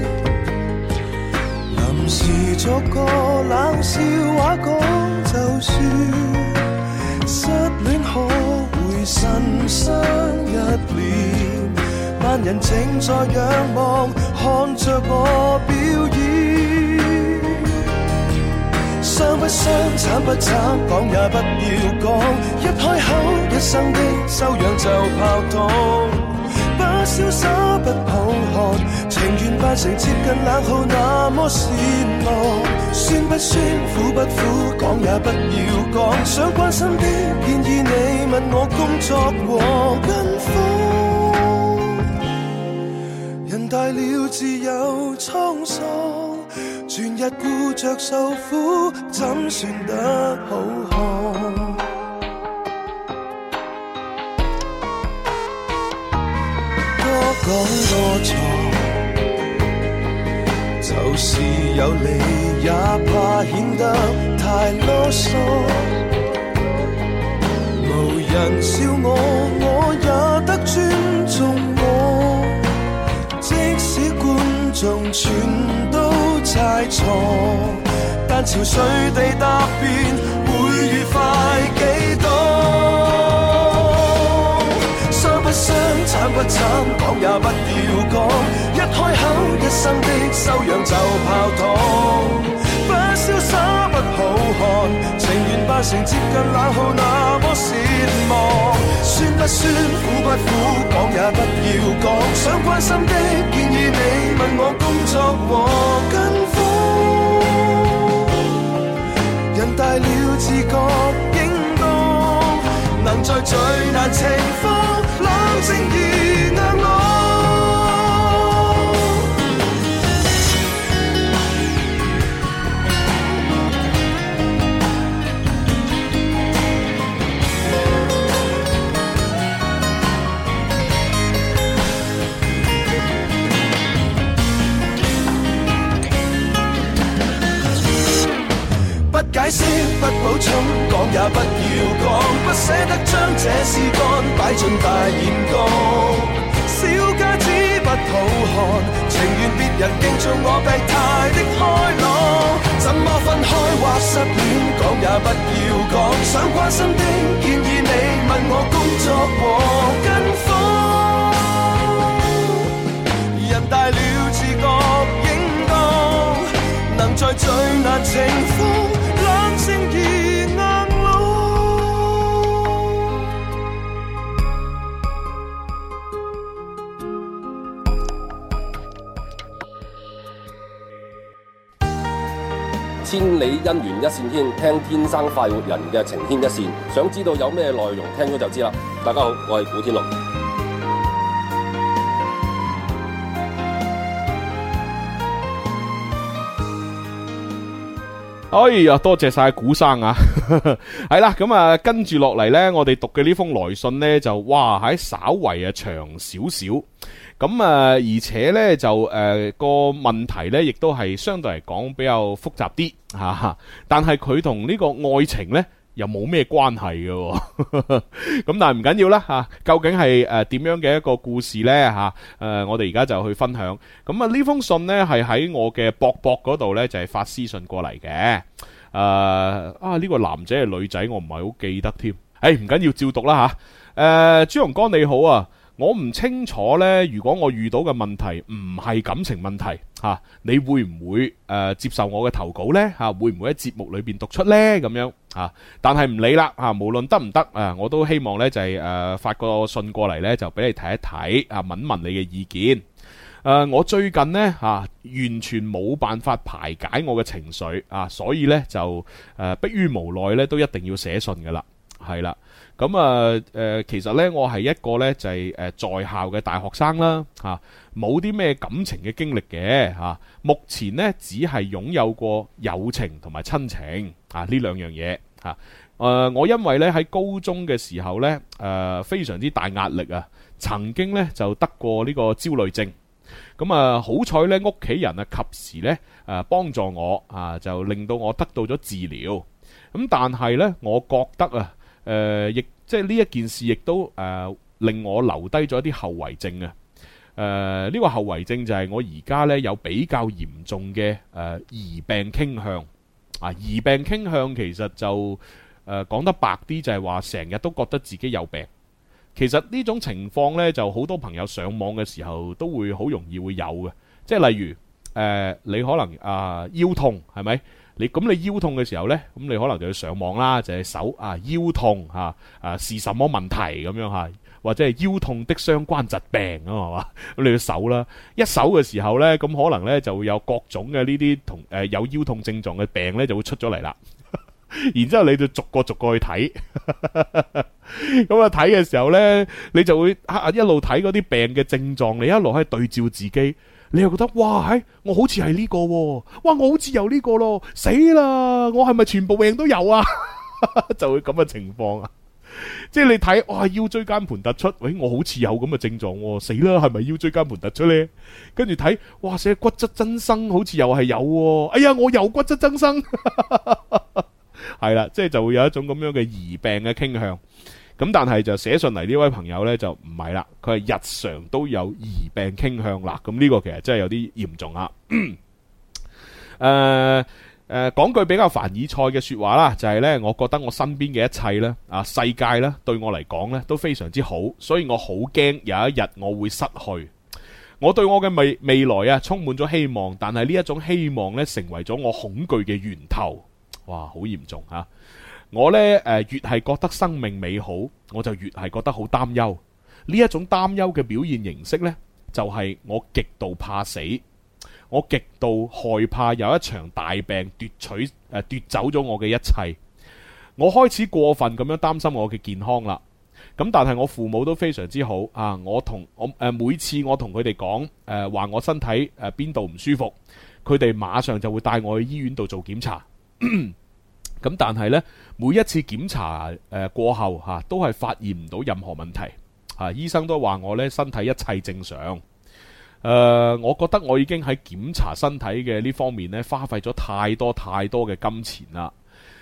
時作個冷笑話講就算，失戀可會神傷一臉，萬人正在仰望看着我表演，傷不傷慘不慘講也不要講，一開口一生的修養就泡湯，不瀟灑不抱寒，情願扮成接近冷酷那麼善良，酸不酸苦不苦講也不要講，想關心的建議你問我工作和跟風，人大了自有滄桑，全日顧着受苦怎算得好看？講多錯，就是有理也怕顯得太囉嗦，無人笑我，我也得尊重我，即使觀眾全都猜錯，但潮水地答辯會愉快幾多？不傷慘不慘講也不要講，一開口一生的修養就泡湯，不瀟灑不好看，情願扮成接近冷酷那麼善忘，酸不酸苦不苦講也不要講，想關心的建議你問我工作和跟風，人大了自覺應當能在最難情況冷靜而硬朗。不解釋不補充講也不要講，不捨得將這絲乾擺進大染缸。小家子不討看，情願別人敬重我病態的開朗。怎麼分開或失戀，講也不要講。想關心的建議你問我工作和跟風。人大了自覺應當，能在最難情況冷靜而硬朗。 千里姻緣一線牽，聽天生快活人嘅情牽一線，想知道有咩內容，聽咗就知啦。大家好，我係古天樂。 哎呀，多謝晒古生啊！係啦，咁啊，跟住落嚟呢，我哋讀嘅呢封來信呢，就哇喺稍為啊長少少，咁啊，而且呢，就個問題呢，亦都係相對嚟講比較複雜啲吓，但係佢同呢個愛情呢，又冇咩關係嘅，咁但係唔緊要啦吓，究竟係點樣嘅一個故事呢吓？我哋而家就去分享。咁啊呢封信呢係喺我嘅博嗰度呢，就係發私信過嚟嘅。呢個男仔係女仔，我唔係好記得添。唔緊要，照讀啦吓。朱紅哥你好啊。我唔清楚呢，如果我遇到嘅問題唔係感情問題吓，你會唔會接受我嘅投稿呢？吓，會唔會喺節目裏邊讀出呢？咁樣吓，但係唔理啦吓，無論得唔得我都希望呢就係發個信過嚟呢，就俾你睇一睇問問你嘅意見。我最近呢完全冇辦法排解我嘅情緒所以呢就迫於無奈呢，都一定要寫信噶啦，係啦。咁其實呢，我係一個呢，就係在校嘅大學生啦，冇啲咩感情嘅經歷嘅目前呢，只係擁有過友情同埋親情呢兩樣嘢我因為呢，喺高中嘅時候呢，非常之大壓力曾經呢，就得過呢個焦慮症。咁好彩呢，屋企人及時呢幫助我就令到我得到咗治療。咁但係呢，我覺得亦即係呢一件事，亦都令我留低咗一啲後遺症呢個後遺症就係我而家呢有比較嚴重嘅疑病傾向疑病傾向其實就講得白啲，就係話成日都覺得自己有病。其實呢種情況呢，就好多朋友上網嘅時候都會好容易會有嘅，即係例如你可能腰痛係咪？你腰痛嘅時候呢，咁你可能就要上網啦，就係搜腰痛是什麼問題咁樣或者係腰痛的相關疾病係嘛？咁你要搜啦，一搜嘅時候呢，咁可能呢就會有各種嘅呢啲同有腰痛症狀嘅病呢就會出咗嚟啦。然之後你就逐個去睇，咁睇嘅時候呢，你就會一路睇嗰啲病嘅症狀，你一路喺度對照自己。你又覺得哇，我好似係呢個喎，哇，我好似有呢個咯，死啦！我係咪全部病都有啊？就會咁嘅情況即係你睇哇，腰椎間盤突出，喂，我好似有咁嘅症狀喎，死啦，係咪腰椎間盤突出呢？跟住睇哇，寫骨質增生，好似又係有喎，哎呀，我又骨質增生，係啦，即係就會有一種咁樣嘅疑病嘅傾向。咁但係就寫信嚟呢位朋友呢，就唔係啦，佢係日常都有疑病傾向啦。咁呢個其實真係有啲嚴重講句比較凡爾賽嘅說話啦，就係呢：我覺得我身邊嘅一切呢，世界呢，對我嚟講呢，都非常之好，所以我好驚有一日我會失去。我對我嘅未來充滿咗希望，但係呢一種希望呢，成為咗我恐懼嘅源頭。哇，好嚴重吓！我呢，越係覺得生命美好，我就越係覺得好擔憂。呢一種擔憂嘅表現形式呢，就係我極度怕死，我極度害怕有一場大病奪走咗我嘅一切。我開始過分咁樣擔心我嘅健康啦。咁但係我父母都非常之好每次我同佢哋講話我身體邊度唔舒服，佢哋馬上就會帶我去醫院度做檢查。咁但係呢，每一次檢查過後都係發現唔到任何問題醫生都話我呢身體一切正常。我覺得我已經喺檢查身體嘅呢方面呢花費咗太多嘅金錢啦。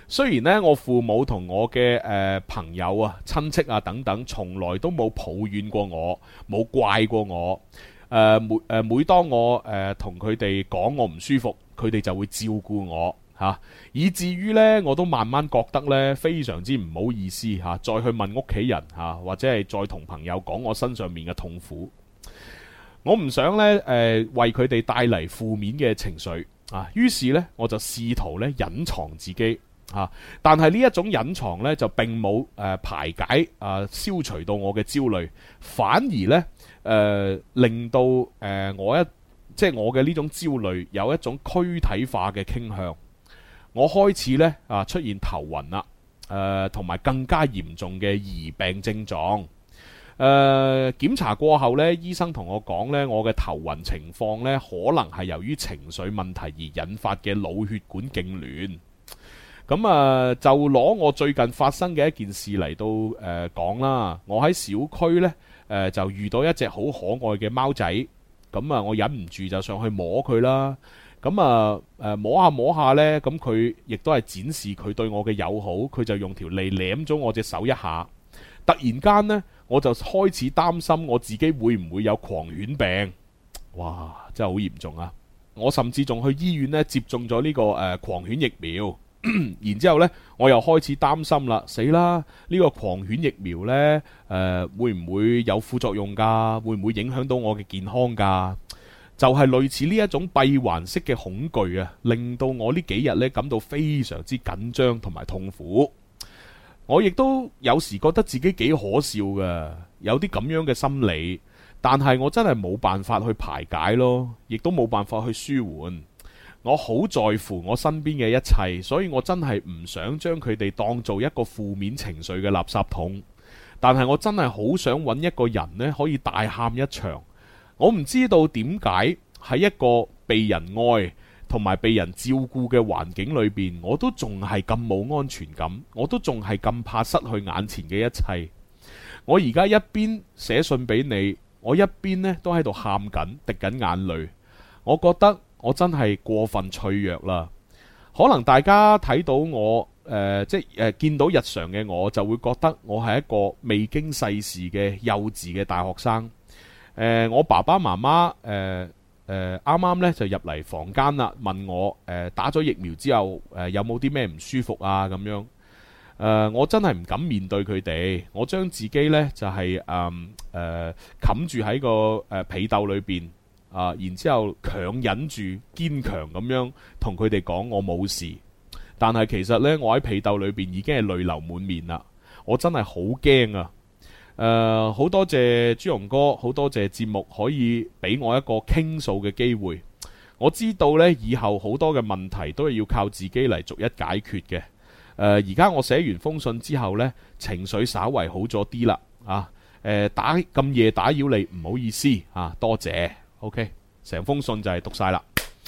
雖然咧我父母同我嘅朋友啊、親戚啊等等，從來都冇抱怨過我，冇怪過我。每當我同佢哋講我唔舒服，佢哋就會照顧我嚇，以至於呢，我都慢慢覺得呢非常之唔好意思嚇，再去問屋企人嚇，或者係再同朋友講我身上面嘅痛苦。我唔想呢為佢哋帶嚟負面嘅情緒啊，於是呢，我就試圖呢隱藏自己。但係呢一種隱藏呢，就並冇排解消除到我嘅焦慮，反而呢，令到我嘅呢種焦慮有一種軀體化嘅傾向。我開始呢出現頭暈啦，同埋更加嚴重嘅疑病症狀。檢查過後呢，醫生同我講呢，我嘅頭暈情況呢，可能係由於情緒問題而引發嘅腦血管痙攣。咁就攞我最近發生嘅一件事嚟到講啦。我喺小區呢，就遇到一隻好可愛嘅貓仔，咁我忍唔住就上去摸佢啦。咁摸下摸下呢，咁佢亦都係展示佢對我嘅友好，佢就用條脷舐咗我隻手一下。突然間呢，我就開始擔心我自己會唔會有狂犬病。哇，真係好嚴重啊！我甚至仲去醫院呢接種咗呢個狂犬疫苗。然之後呢，我又開始擔心啦，死啦！呢個狂犬疫苗呢，會唔會有副作用㗎？會唔會影響到我嘅健康㗎？就係類似呢一種閉環式嘅恐懼啊，令到我呢幾日呢感到非常之緊張同埋痛苦。我亦都有時覺得自己幾可笑㗎，有啲咁樣嘅心理，但係我真係冇辦法去排解咯，亦都冇辦法去舒緩。我好在乎我身邊嘅一切，所以我真係唔想將佢哋當做一個負面情緒嘅垃圾桶。但係我真係好想揾一個人呢，可以大喊一場。我唔知道點解喺一個被人愛同埋被人照顧嘅環境裏邊，我都仲係咁冇安全感，我都仲係咁怕失去眼前嘅一切。我而家一邊寫信俾你，我一邊呢都喺度喊緊，滴緊眼淚。我覺得我真係過分脆弱啦。可能大家睇到我見到日常嘅我，就會覺得我係一個未經世事嘅幼稚嘅大學生。我爸爸媽媽啱啱呢就入嚟房間啦，問我打咗疫苗之後有冇啲咩唔舒服啊咁樣。我真係唔敢面對佢哋，我將自己呢就係冚住喺個被竇裏邊。然之後強忍住堅強咁樣同佢哋講我冇事，但係其實呢，我喺被竇裏邊已經係淚流滿面啦。我真係好驚啊！好多謝朱紅哥，好多謝節目可以俾我一個傾訴嘅機會。我知道呢，以後好多嘅問題都係要靠自己嚟逐一解決嘅。而家我寫完封信之後呢，情緒稍為好咗啲啦。咁夜打擾你，唔好意思啊，多謝。OK， 成封信就係讀晒啦。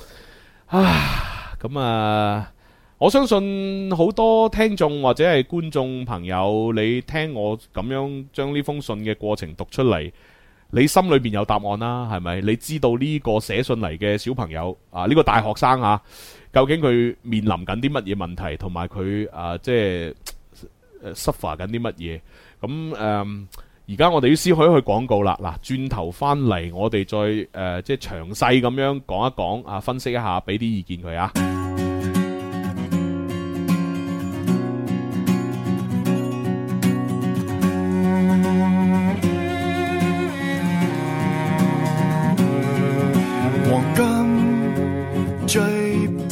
咁我相信好多聽眾或者係觀眾朋友，你聽我咁樣將呢封信嘅過程讀出嚟，你心裏邊有答案啦，係咪？你知道呢個寫信嚟嘅小朋友呢個大學生究竟佢面臨緊啲乜嘢問題，同埋佢即係suffer緊啲乜嘢？咁而家我哋要先去廣告啦。嗱，轉頭翻嚟，我哋再即係詳細咁樣講一講分析一下，俾啲意見佢啊。 黃金最寶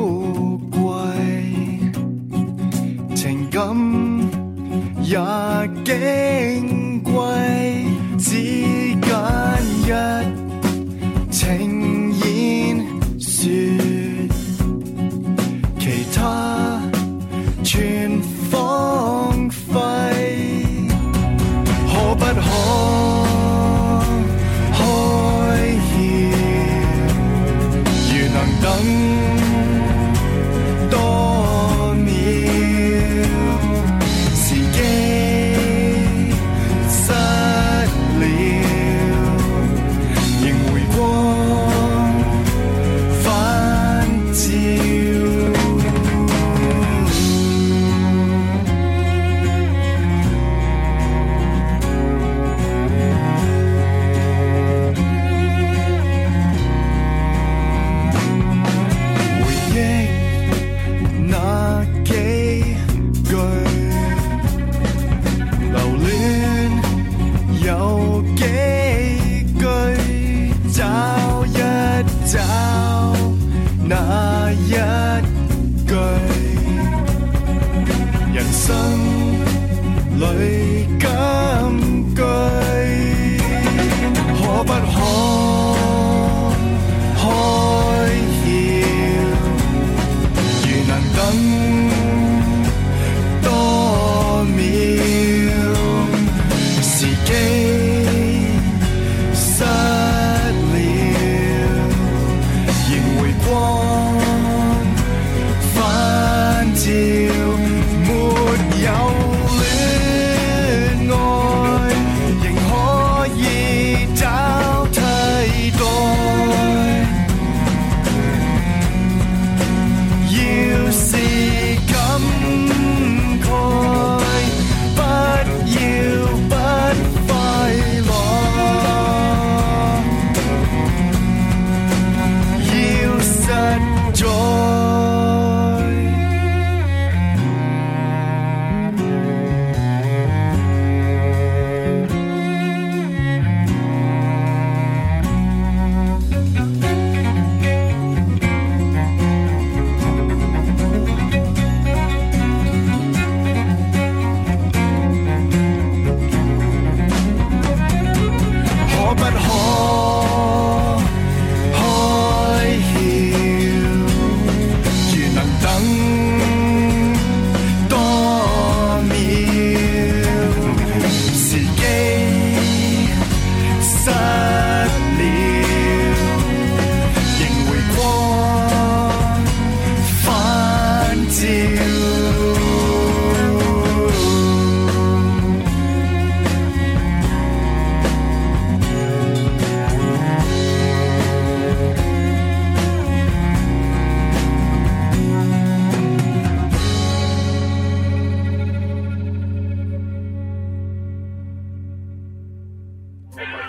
貴，情感也矜貴，只間一情言說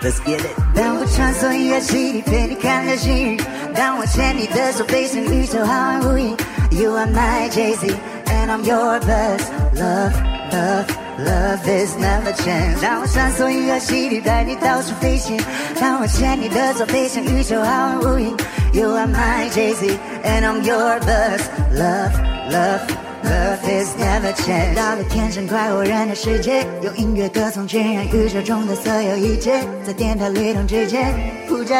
Let's get it。当我穿梭音乐戏里陪你看流星雨，当我牵你的手飞向宇宙浩瀚无垠。You are my Jay-Z and I'm your buzz. Love, love, love is never change。当我穿梭音乐戏里带你到处飞行，当我牵你的手飞向宇宙浩瀚无垠。You are my Jay-Z and I'm your buzz. Love, love.Love is never change。到了天生快活人的世界，用音乐歌颂渲染宇宙中的所有一切，在电台律动之间，呼着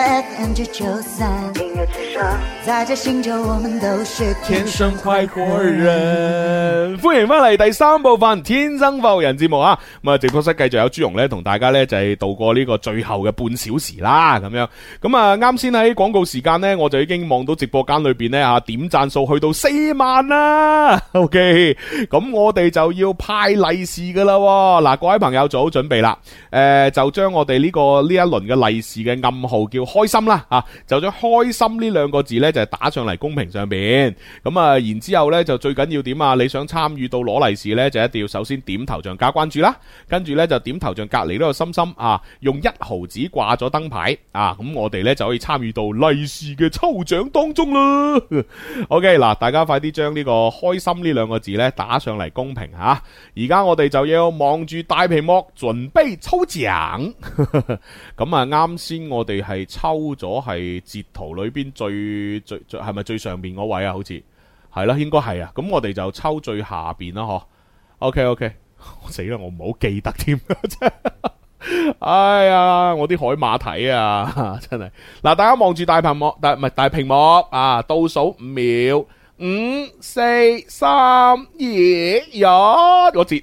FM993，音樂之聲，在這星球我們都是天生快活人。 歡迎翻嚟第三部分《天生快活人》節目啊！咁啊，直播室繼續有朱紅咧，同大家咧就係度過呢個最後嘅半小時啦，咁樣。咁啊，啱先喺廣告時間咧，我就已經望到直播間裏邊咧嚇點讚數去到4萬啦。咁我哋就要派利是噶啦，嗱，各位朋友做好準備啦，就將我哋呢一輪嘅利是嘅暗號叫開心啦，就將開心呢兩個字呢，就打上嚟公屏上邊，咁啊，然之後呢就最緊要點啊？你想參與到攞利是呢，就一定要首先點頭像加關注啦，跟住呢就點頭像隔籬呢個心心啊，用1毫子掛咗燈牌啊，咁我哋呢就可以參與到利是嘅抽獎當中啦。OK， 嗱，大家快啲將呢個開心呢兩個字咧打上嚟公屏吓，而家我哋就要望住大屏幕準備抽獎。咁啊，啱先我哋係抽咗係截圖裏邊最係咪最上邊嗰位啊？好似係啦，應該係啊。咁我哋就抽最下邊啦，嗬。OK， 死啦，我唔好記得添。哎呀，我啲海馬體啊，真係。嗱，大家望住大屏幕，大屏幕啊，倒數5秒。5、4、3、2、1，我截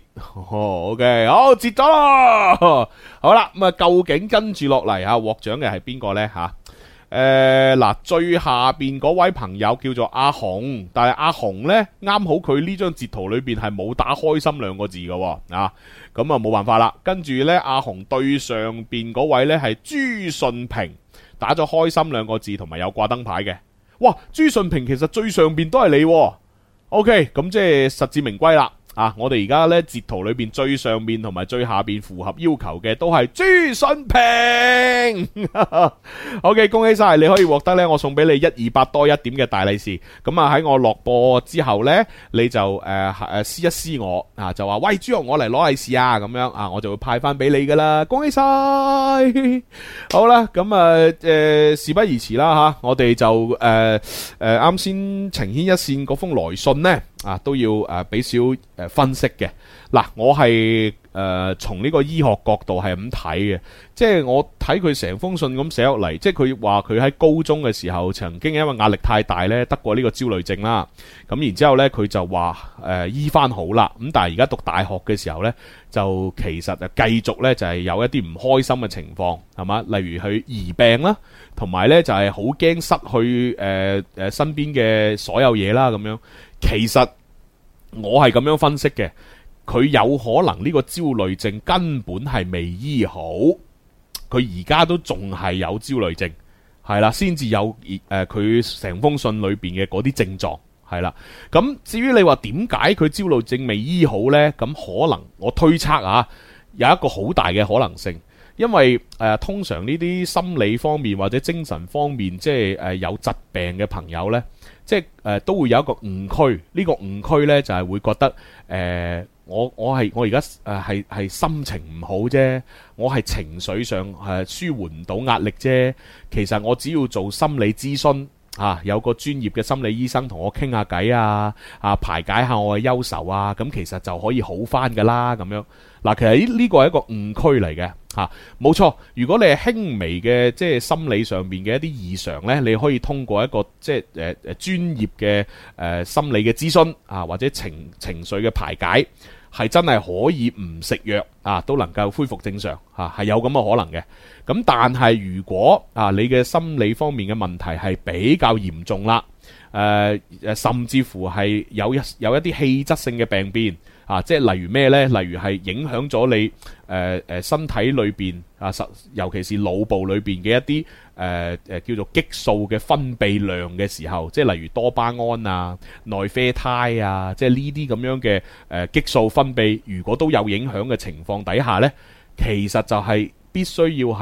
，OK， 好，截咗啦。好啦，咁啊，究竟跟住落嚟啊，獲獎嘅係邊個呢？吓？嗱，最下邊嗰位朋友叫做阿紅，但係阿紅呢，啱好佢呢張截圖裏邊係冇打開心兩個字嘅，啊，咁啊冇辦法啦。跟住呢，阿紅對上邊嗰位呢係朱信平，打咗開心兩個字同埋有掛燈牌嘅。哇，朱信平其實最上邊都係你喎。OK， 咁即係實至名歸啦。啊，我哋而家呢截圖裏邊最上邊同埋最下邊符合要求嘅都係朱信平。OK， 恭喜晒，你可以獲得呢我送俾你128多1點嘅大利是。咁啊喺我落播之後呢，你就私一私我啊，就話喂朱紅，我嚟攞利是啊，咁樣啊，我就會派翻俾你噶啦。恭喜晒。好啦，咁啊事不宜遲啦吓，我哋就啱先情牽一線嗰封來信呢。啊，都要俾少分析嘅。嗱，我係從呢個醫學角度係咁睇嘅，即係我睇佢成封信咁寫落嚟，即係佢話佢喺高中嘅時候曾經因為壓力太大咧得過呢個焦慮症啦，咁然之後咧佢就話醫翻好啦，咁但係而家讀大學嘅時候咧就其實繼續咧就係有一啲唔開心嘅情況，係嘛？例如佢疑病啦，同埋咧就係好驚失去身邊嘅所有嘢啦咁樣。其實我係咁樣分析嘅，佢有可能呢個焦慮症根本係未醫好，佢而家都仲係有焦慮症，係啦，先至有佢成封信裏邊嘅嗰啲症狀，係啦。咁至於你話點解佢焦慮症未醫好呢？咁可能我推測啊，有一個好大嘅可能性。因為通常呢啲心理方面或者精神方面，即係有疾病嘅朋友呢，即係都會有一個誤區。呢個誤區呢，就係會覺得我而家係心情唔好啫，我係情緒上舒緩唔到壓力啫。其實我只要做心理諮詢啊，有個專業嘅心理醫生同我傾下偈啊，排解下我嘅憂愁啊，咁其實就可以好返噶啦咁樣。嗱，其實呢個係一個誤區嚟嘅嚇，冇錯。如果你係輕微嘅即係心理上邊嘅一啲異常呢，你可以通過一個即係專業嘅心理嘅諮詢啊，或者情緒嘅排解，係真係可以唔食藥啊都能夠恢復正常嚇，係有咁嘅可能嘅。咁但係如果你嘅心理方面嘅問題係比較嚴重啦，甚至乎係有一啲氣質性嘅病變。即係例如咩呢？例如係影響咗你身體裏邊尤其是腦部裏邊嘅一啲叫做激素嘅分泌量嘅時候，即係例如多巴胺啊、內啡肽啊，即係呢啲咁樣嘅激素分泌，如果都有影響嘅情況底下呢，其實就係必須要係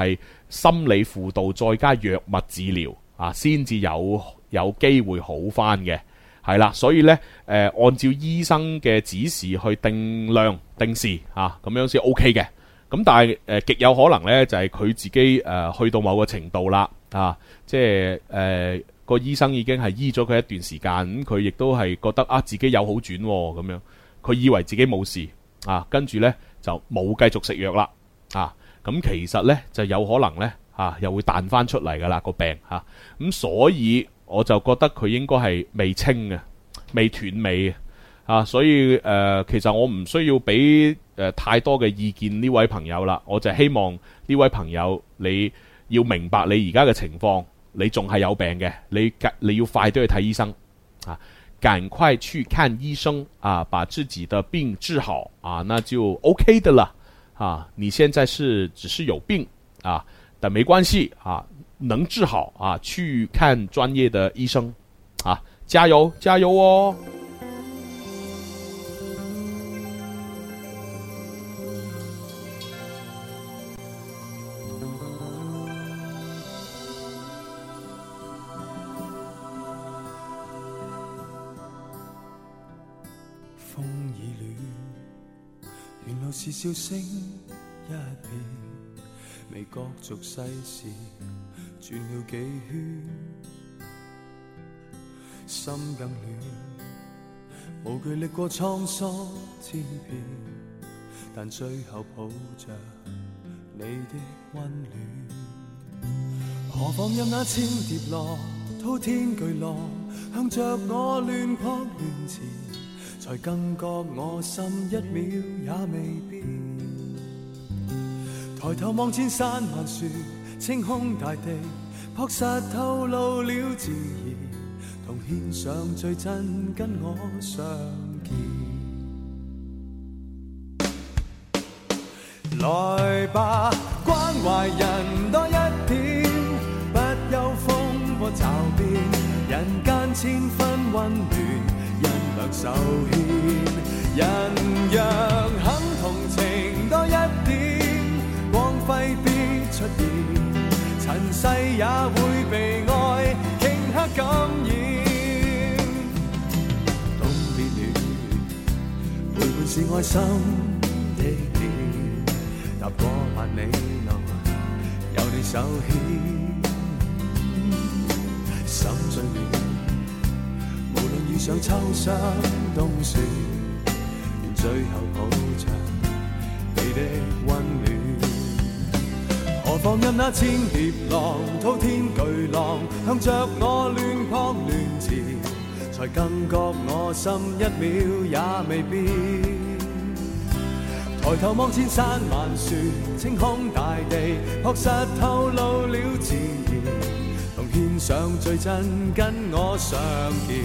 心理輔導再加藥物治療啊，先至有機會好返嘅。係啦，所以呢，按照醫生嘅指示去定量定時啊，咁樣先 OK 嘅。咁但係極有可能呢，就係佢自己去到某個程度啦啊，即係個醫生已經係醫咗佢一段時間，咁佢亦都係覺得啊自己有好轉咁樣，佢以為自己冇事啊，跟住呢就冇繼續食藥啦啊，咁其實呢，就有可能呢，又會彈翻出嚟噶啦個病嚇，咁所以我就覺得佢應該係未清嘅，未斷尾啊，所以其實我唔需要俾太多嘅意見呢位朋友啦，我就希望呢位朋友你要明白你而家嘅情況，你仲係有病嘅，你要快啲去睇醫生啊，趕快去看醫生啊，把自己的病治好啊，那就 OK 的啦啊，你現在只是有病啊，但沒關係啊，能治好啊，去看專業的醫生啊，加油加油哦！ 風已暖，原來是笑聲一片，未覺俗世事轉了幾圈，心更暖，無懼歷過滄桑千遍，但最後抱着你的溫暖。何況任那千疊浪，滔天巨浪向着我亂撲亂纏，才更覺我心一秒也未變。抬頭望千山萬樹，青空大地，樸實透露了自然，同獻上最真跟我相見。來吧，關懷人多一點，不憂風波驟變，人間千分溫暖，人兩手牽，人若肯同情多一點，光輝必出現，塵世也會被愛頃刻感染。冬變暖，陪伴是愛心的臉，踏過萬里路，有你手牽，心最暖。無論遇上秋霜冬雪，願最後抱着你的溫暖。何況任那千疊浪，滔天巨浪向着我亂撲亂纏，才更覺我心一秒也未變。抬頭望千山萬樹，青空大地，樸實透露了自然，同獻上最真跟我相見。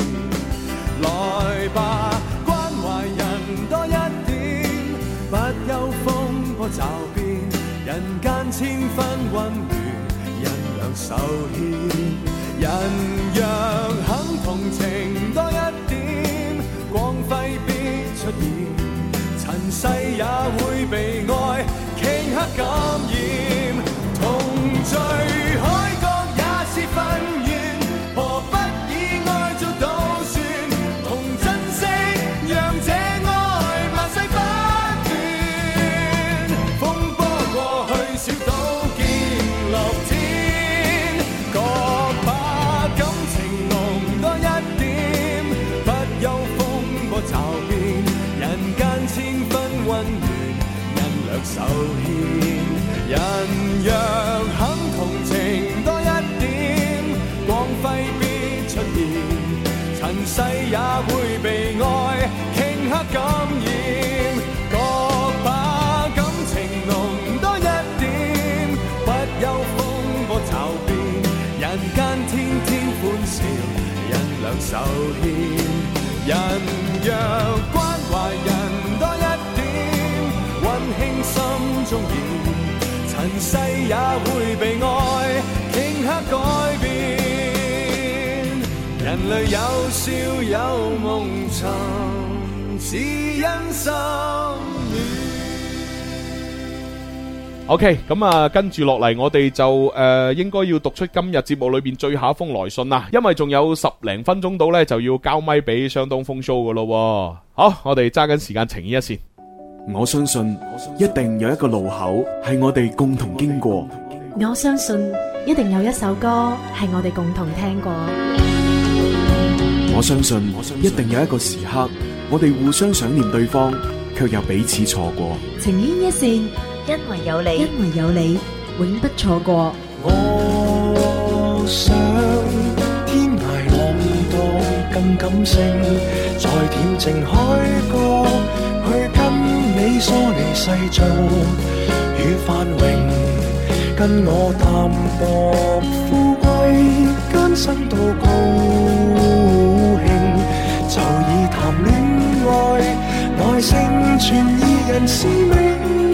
來吧，關懷人多一點，不憂風波驟變，人間千分溫暖，人兩手牽。人若肯同情多一點，光輝必出現，塵世也會被愛頃刻感染，同聚海角也是份緣，何不以愛做賭算，同珍惜讓這愛萬世不斷。風波過去小島見樂天，各把感情濃多一點，不憂風波驟變，人間千分溫暖，人兩手牽。人若肯同情多一點，光輝必出現，塵世也會被愛頃刻感染。各把感情濃多一點，不憂風波驟變，人間天天歡笑，人兩手牽。人若關懷人多一點，溫馨心中現，塵世也會被愛頃刻改變。人類有笑有夢尋，只因心暖。 OK， 咁啊，跟住落嚟，我哋就應該要讀出今日節目裏邊最後一封來信啦，因為仲有10零分鐘到呢，就要交咪俾相當風 show 噶咯。好，我哋揸緊時間情牽一線。 我相信一定有一個路口係我哋共同經過。 我相信一定有一首歌係我哋共同聽過。 我相信一定有一個時刻，我哋互相想念對方，卻又彼此錯過。 情牽一線，因為有你，因為有你，永不錯過。 我想天涯浪蕩更感性，在恬靜海角去跟你疏離世俗與繁榮，跟我淡薄富貴艱辛到高興，就以談戀愛來成全二人使命。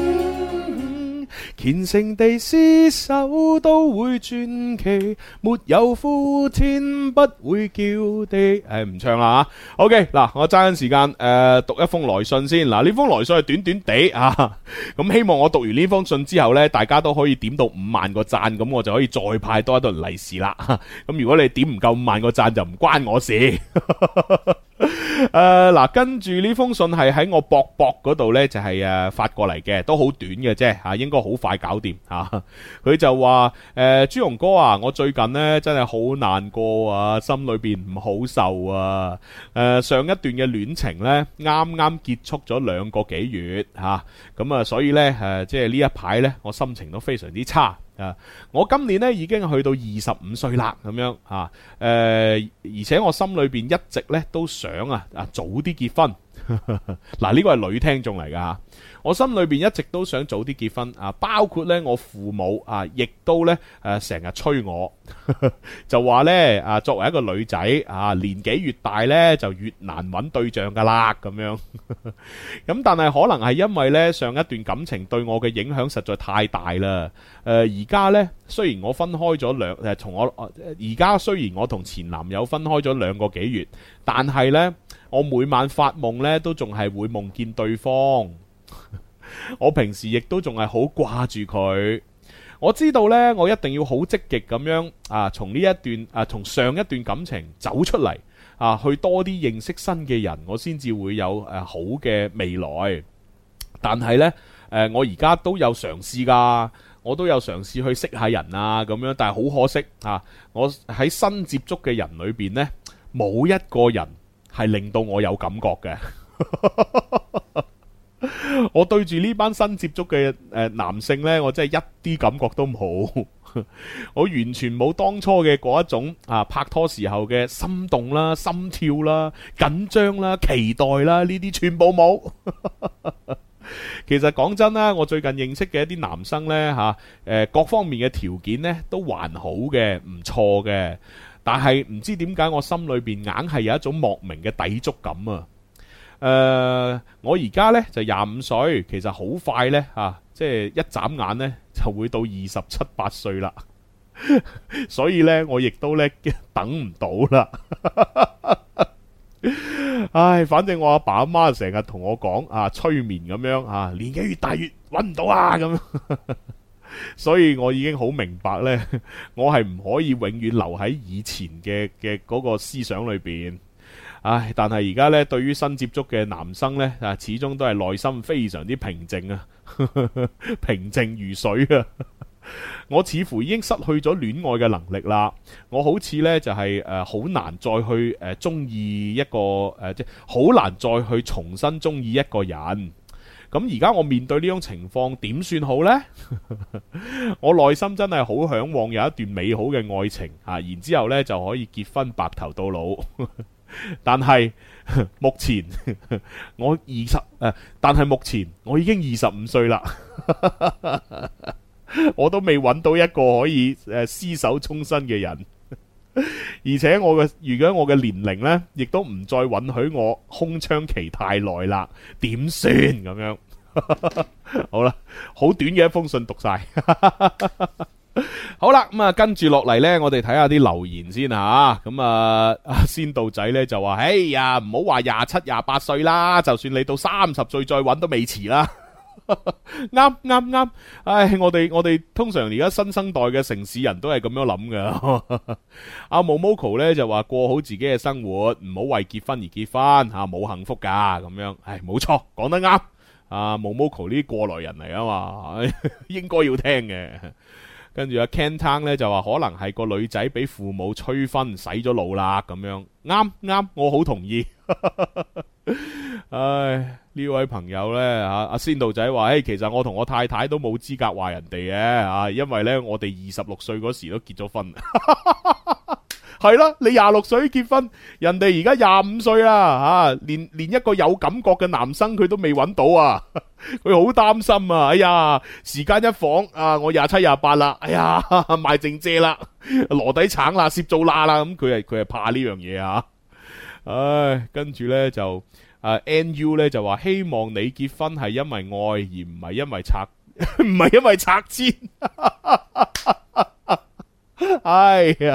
虔誠地廝守都會傳奇，沒有呼天不會叫地。唔唱啦吓。OK， 嗱，我揸緊時間讀一封來信先。嗱，呢封來信係短短地啊，咁希望我讀完呢封信之後呢，大家都可以點到5萬個讚，咁我就可以再派多一頓利是啦。咁如果你點唔夠5萬個讚，就唔關我事。嗱，跟住呢封信係喺我博嗰度呢，就係發過嚟嘅，都好短嘅啫吓，應該好快搞掂吓。佢就話朱紅哥啊，我最近呢真係好難過啊，心裏邊唔好受啊。上一段嘅戀情呢，啱啱結束咗2個幾月吓，咁啊所以呢，即係呢一排呢，我心情都非常之差。我今年咧已經去到25歲啦，咁樣啊，而且我心裏邊一直咧都想早啲結婚。嗱，呢個係女聽眾嚟噶，我心裏邊一直都想早啲結婚啊，包括咧我父母啊，亦都咧成日催我，就話咧作為一個女仔啊，年紀越大咧就越難揾對象噶啦，咁樣。咁但係可能係因為咧上一段感情對我嘅影響實在太大啦。而家咧雖然我分開咗而家雖然我同前男友分開咗2個幾月，但係咧我每晚發夢咧都仲係會夢見對方。我平時亦都仲係好掛住佢。我知道呢，我一定要好積極咁樣從上一段感情走出嚟去多啲認識新嘅人，我先至會有好嘅未來。但係呢，我而家都有嘗試噶，我都有嘗試去識下人啊咁樣，但係好可惜我喺新接觸嘅人裏邊呢，冇一個人係令到我有感覺嘅。我對住呢班新接觸嘅男性呢，我真係一啲感覺都冇。我完全冇當初嘅嗰一種拍拖時候嘅心動啦、心跳啦、緊張啦、期待啦，呢啲全部冇。其實講真啦，我最近認識嘅一啲男生呢，各方面嘅條件呢都還好嘅，唔錯嘅，但係唔知點解我心裏邊硬係有一種莫名嘅抵觸感啊！我而家呢就25歲，其實好快呢，即係一眨眼呢就會到27、8歲啦，所以呢，我亦都呢等唔到啦。唉，反正我阿爸阿媽成日同我講催眠咁樣年紀越大越搵唔到咁，所以我已經好明白呢，我係唔可以永遠留喺以前嘅嗰個思想裏邊。唉，但係而家咧，對於新接觸嘅男生咧，始終都係內心非常之平靜啊，平靜如水啊。我似乎已經失去咗戀愛嘅能力啦。我好似咧就係好難再去中意一個即係好難再去重新中意一個人。咁而家我面對呢種情況點算好呢？我內心真係好向往有一段美好嘅愛情然之後咧就可以結婚白頭到老。但係目前我但係目前我已經25歲啦，我都未揾到一個可以廝守終身嘅人，而且如果我嘅年齡呢，亦都唔再允許我空窗期太耐啦，點算咁樣？好啦，好短嘅一封信讀晒。好啦，咁跟住落嚟呢，我哋睇下啲留言先吓。咁先道仔呢就話：哎呀，唔好話27、28歲啦，就算你到30歲再揾都未遲啦。 啱，唉，我哋通常而家新生代嘅城市人都係咁樣諗噶。阿 Momoko 咧就話過好自己嘅生活，唔好為結婚而結婚吓，冇幸福噶咁樣。唉，冇錯，講得啱。阿 Momoko 呢啲過來人嚟啊嘛，應該要聽嘅。跟住阿 Ken Tang 咧就話可能係個女仔俾父母催婚洗咗腦啦咁樣。啱，我好同意。唉，呢位朋友呢，阿仙道仔話，其實我同我太太都冇資格話人哋嘅，因為呢，我哋26歲嗰時都結咗婚。係啦，你26歲結婚，人哋而家25歲啦，連一個有感覺嘅男生佢都未揾到啊，佢好擔心啊！哎呀，時間一晃啊，我27、28啦，哎呀，賣剩蔗啦，籮底橙啦，攝做啦啦，咁佢係怕呢樣嘢啊！唉，跟住呢就NU 呢就話希望你結婚係因為愛而唔係因為拆遷。哎呀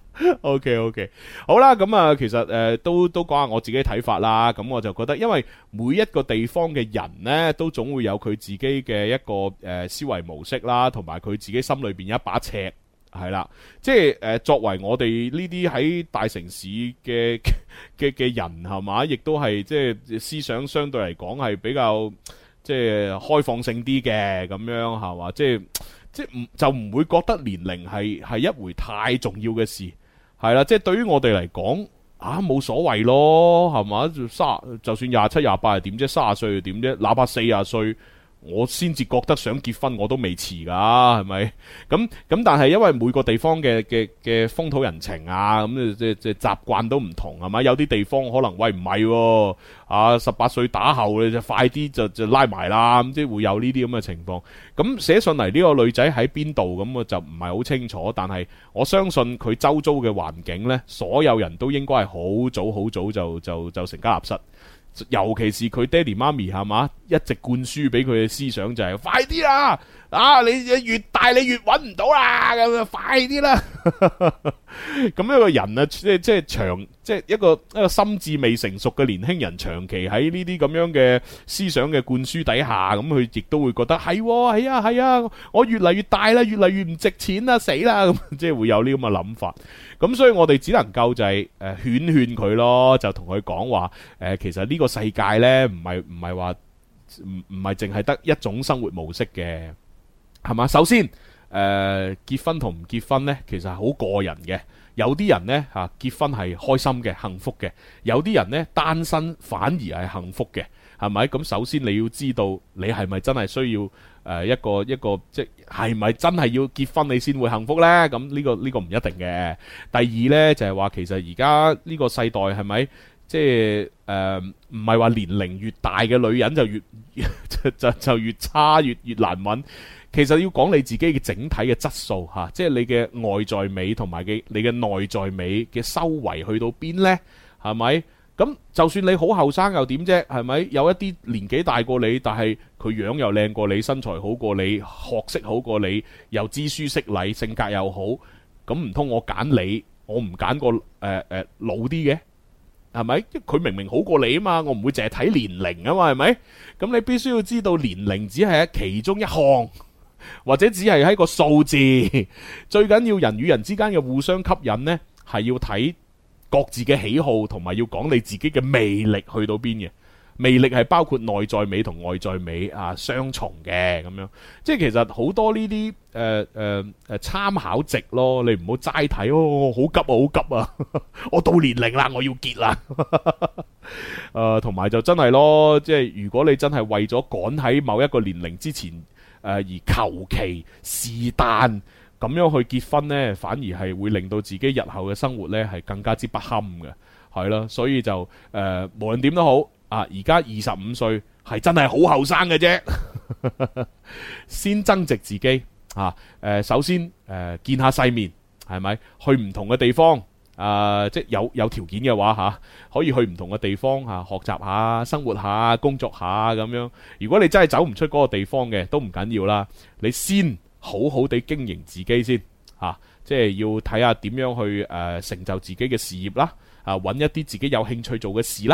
〜OK， 好啦，咁啊，其實都講下我自己睇法啦。咁我就覺得，因為每一個地方嘅人呢，都總會有佢自己嘅一個思維模式啦，同埋佢自己心裏邊有一把尺，係啦。即係作為我哋呢啲喺大城市嘅人，係嘛，亦都係即係思想相對嚟講係比較即係開放性啲嘅，咁樣係嘛，即係就唔會覺得年齡係一回太重要嘅事。係啦，即係對於我哋嚟講，冇所謂咯，係嘛？就算27、28係點啫，30歲又點啫？哪怕40歲，我先至覺得想結婚，我都未遲噶，係咪？咁但係因為每個地方嘅風土人情啊，咁即係習慣都唔同，係咪？有啲地方可能喂唔係，18歲打後你就快啲就拉埋啦，咁即係會有呢啲咁嘅情況。咁寫信嚟呢個女仔喺邊度，咁我就唔係好清楚，但係我相信佢周遭嘅環境呢，所有人都應該係好早就成家立室。尤其是佢爹哋媽咪係嘛，一直灌輸俾佢嘅思想就係快啲啦，你越大你越揾唔到啦，咁快啲啦。咁一個人啊，即係一個心智未成熟嘅年輕人，長期喺呢啲咁樣嘅思想嘅灌輸底下，咁佢亦都會覺得係啊，我越嚟越大啦，越嚟越唔值錢啦，死啦，咁即係會有呢咁嘅諗法。咁所以我哋只能夠就係勸佢咯，就同佢講話其實呢個世界呢，唔係話唔係淨係得一種生活模式嘅，係嘛？首先結婚同唔結婚呢，其實係好個人嘅。有啲人呢，結婚係開心嘅、幸福嘅，有啲人呢，單身反而係幸福嘅，係咪？咁首先你要知道你係咪真係需要一個即係咪真係要結婚你先會幸福呢？咁呢個唔一定嘅。第二呢，就係話其實而家呢個世代係咪即係唔係話年齡越大嘅女人就越差越難揾？其實要講你自己嘅整體嘅質素吓，即係你嘅外在美同埋你嘅內在美嘅修為去到邊呢？係咪？咁就算你好後生又點啫？係咪？有一啲年紀大過你，但係佢樣又靚過你，身材好過你，學識好過你，又知書識禮，性格又好，咁唔通我揀你，我唔揀個老啲嘅？係咪？佢明明好過你啊嘛，我唔會淨係睇年齡啊嘛，係咪？咁你必須要知道年齡只係其中一項。或者只係喺個數字，最緊要人與人之間嘅互相吸引呢，係要睇各自嘅喜好，同埋要講你自己嘅魅力去到邊嘅。魅力係包括內在美同外在美雙重嘅咁樣。即係其實好多呢啲參考值咯，你唔好齋睇好急啊，我到年齡啦，我要結啦。同埋就真係咯，即係如果你真係為咗趕喺某一個年齡之前。而求其是但咁樣去結婚呢，反而係會令到自己日後嘅生活呢係更加之不堪嘅，係咯。所以就無論點都好，而家25歲係真係好後生嘅啫，先增值自己首先見下世面，係咪？去唔同嘅地方。即係有條件嘅話可以去唔同嘅地方學習下、生活下、工作下咁樣。如果你真係走唔出嗰個地方嘅，都唔緊要啦。你先好好地經營自己先即係要睇下點樣去成就自己嘅事業啦。揾一啲自己有興趣做嘅事啦。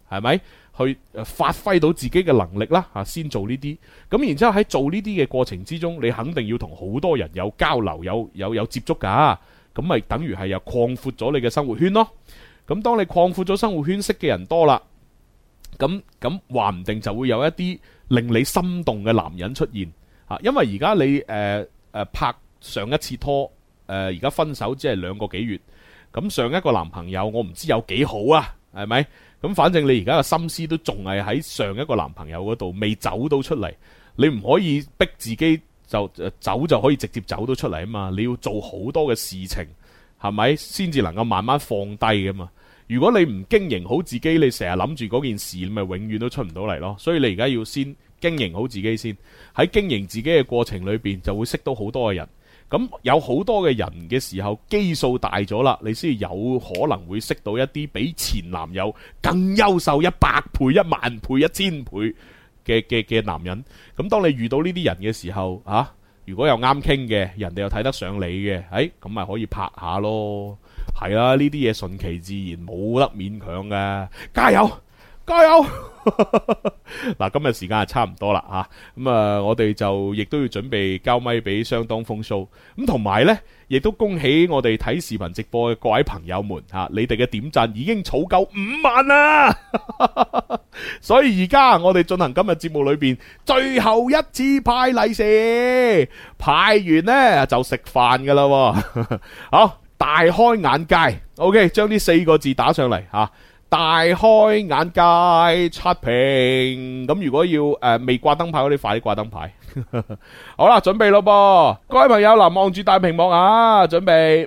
係咪？去發揮到自己嘅能力啦，先做呢啲。咁然之後喺做呢啲嘅過程之中，你肯定要同好多人有交流、有接觸㗎。咁咪等於係又擴闊咗你嘅生活圈咯。咁當你擴闊咗生活圈，識嘅人多啦，咁話唔定就會有一啲令你心動嘅男人出現。因為而家你拍上一次拖，而家分手只係2個幾月。咁上一個男朋友我唔知有幾好啊，係咪？咁反正你而家嘅心思都仲係喺上一個男朋友嗰度，未走到出嚟。你唔可以逼自己就走就可以直接走到出嚟啊嘛！你要做好多嘅事情，係咪先至能夠慢慢放低噶嘛？如果你唔經營好自己，你成日諗住嗰件事，你咪永遠都出唔到嚟咯。所以你而家要先經營好自己先，喺經營自己嘅過程裏邊，就會識到好多嘅人。咁有好多嘅人嘅時候，基數大咗啦，你先有可能會識到一啲比前男友更優秀100倍、10000倍、1000倍嘅男人。咁當你遇到呢啲人嘅時候，如果有啱傾嘅，人哋又睇得上你嘅，咁咪可以拍下咯。係啦，呢啲嘢順其自然，冇得勉強嘅。加油！加油！嗱，今日時間係差唔多啦吓，咁我哋就亦都要準備交咪俾相當風騷，咁同埋呢，亦都恭喜我哋睇視頻直播嘅各位朋友們吓，你哋嘅點讚已經儲夠5萬啦，所以而家我哋進行今日節目裏邊最後一次派利是，派完呢就食飯噶啦，好，大開眼界 ，OK， 將呢4個字打上嚟吓。大開眼界刷屏，咁如果要未掛燈牌嗰啲，快啲掛燈牌。好啦，準備咯噃，各位朋友嗱，望住大屏幕啊，準備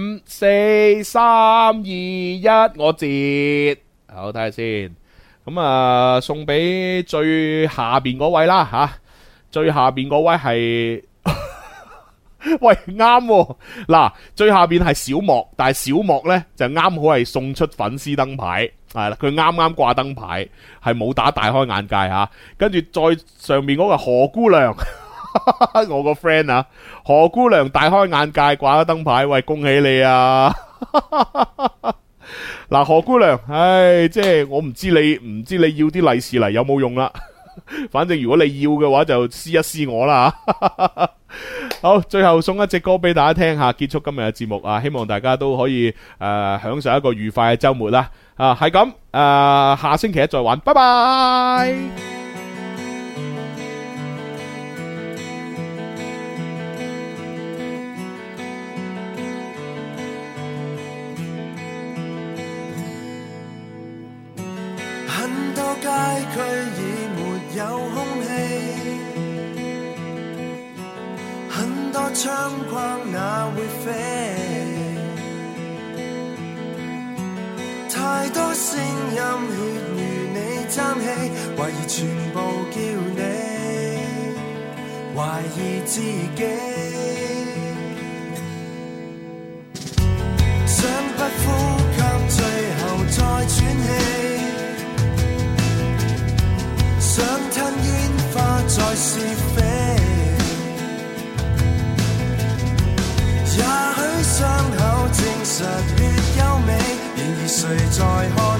5、4、3、2、1，我截，好睇下先。咁送俾最下邊嗰位啦吓，最下邊嗰位係。喂，啱喎，嗱，最下邊係小莫，但係小莫呢就啱好係送出粉絲燈牌，係啦，佢啱啱掛燈牌，係冇打大開眼界吓，跟住再上面嗰個何姑娘，我個 friend 啊，何姑娘大開眼界掛咗燈牌，喂，恭喜你啊！嗱，何姑娘，即係我唔知你要啲利是嚟有冇用啦，反正如果你要嘅話就私一私我啦。好，最後送一隻歌俾大家聽下，結束今日嘅節目啊！希望大家都可以享受一個愉快嘅周末啦！係咁，下星期一再玩，拜拜。 很多街區已沒有空氣。很多窗框那會飛，太多聲音血如你爭氣，懷疑全部叫你懷疑自己，想不呼吸最後再喘氣，想吞煙花再是非，也許傷口證實越優美，然而誰在看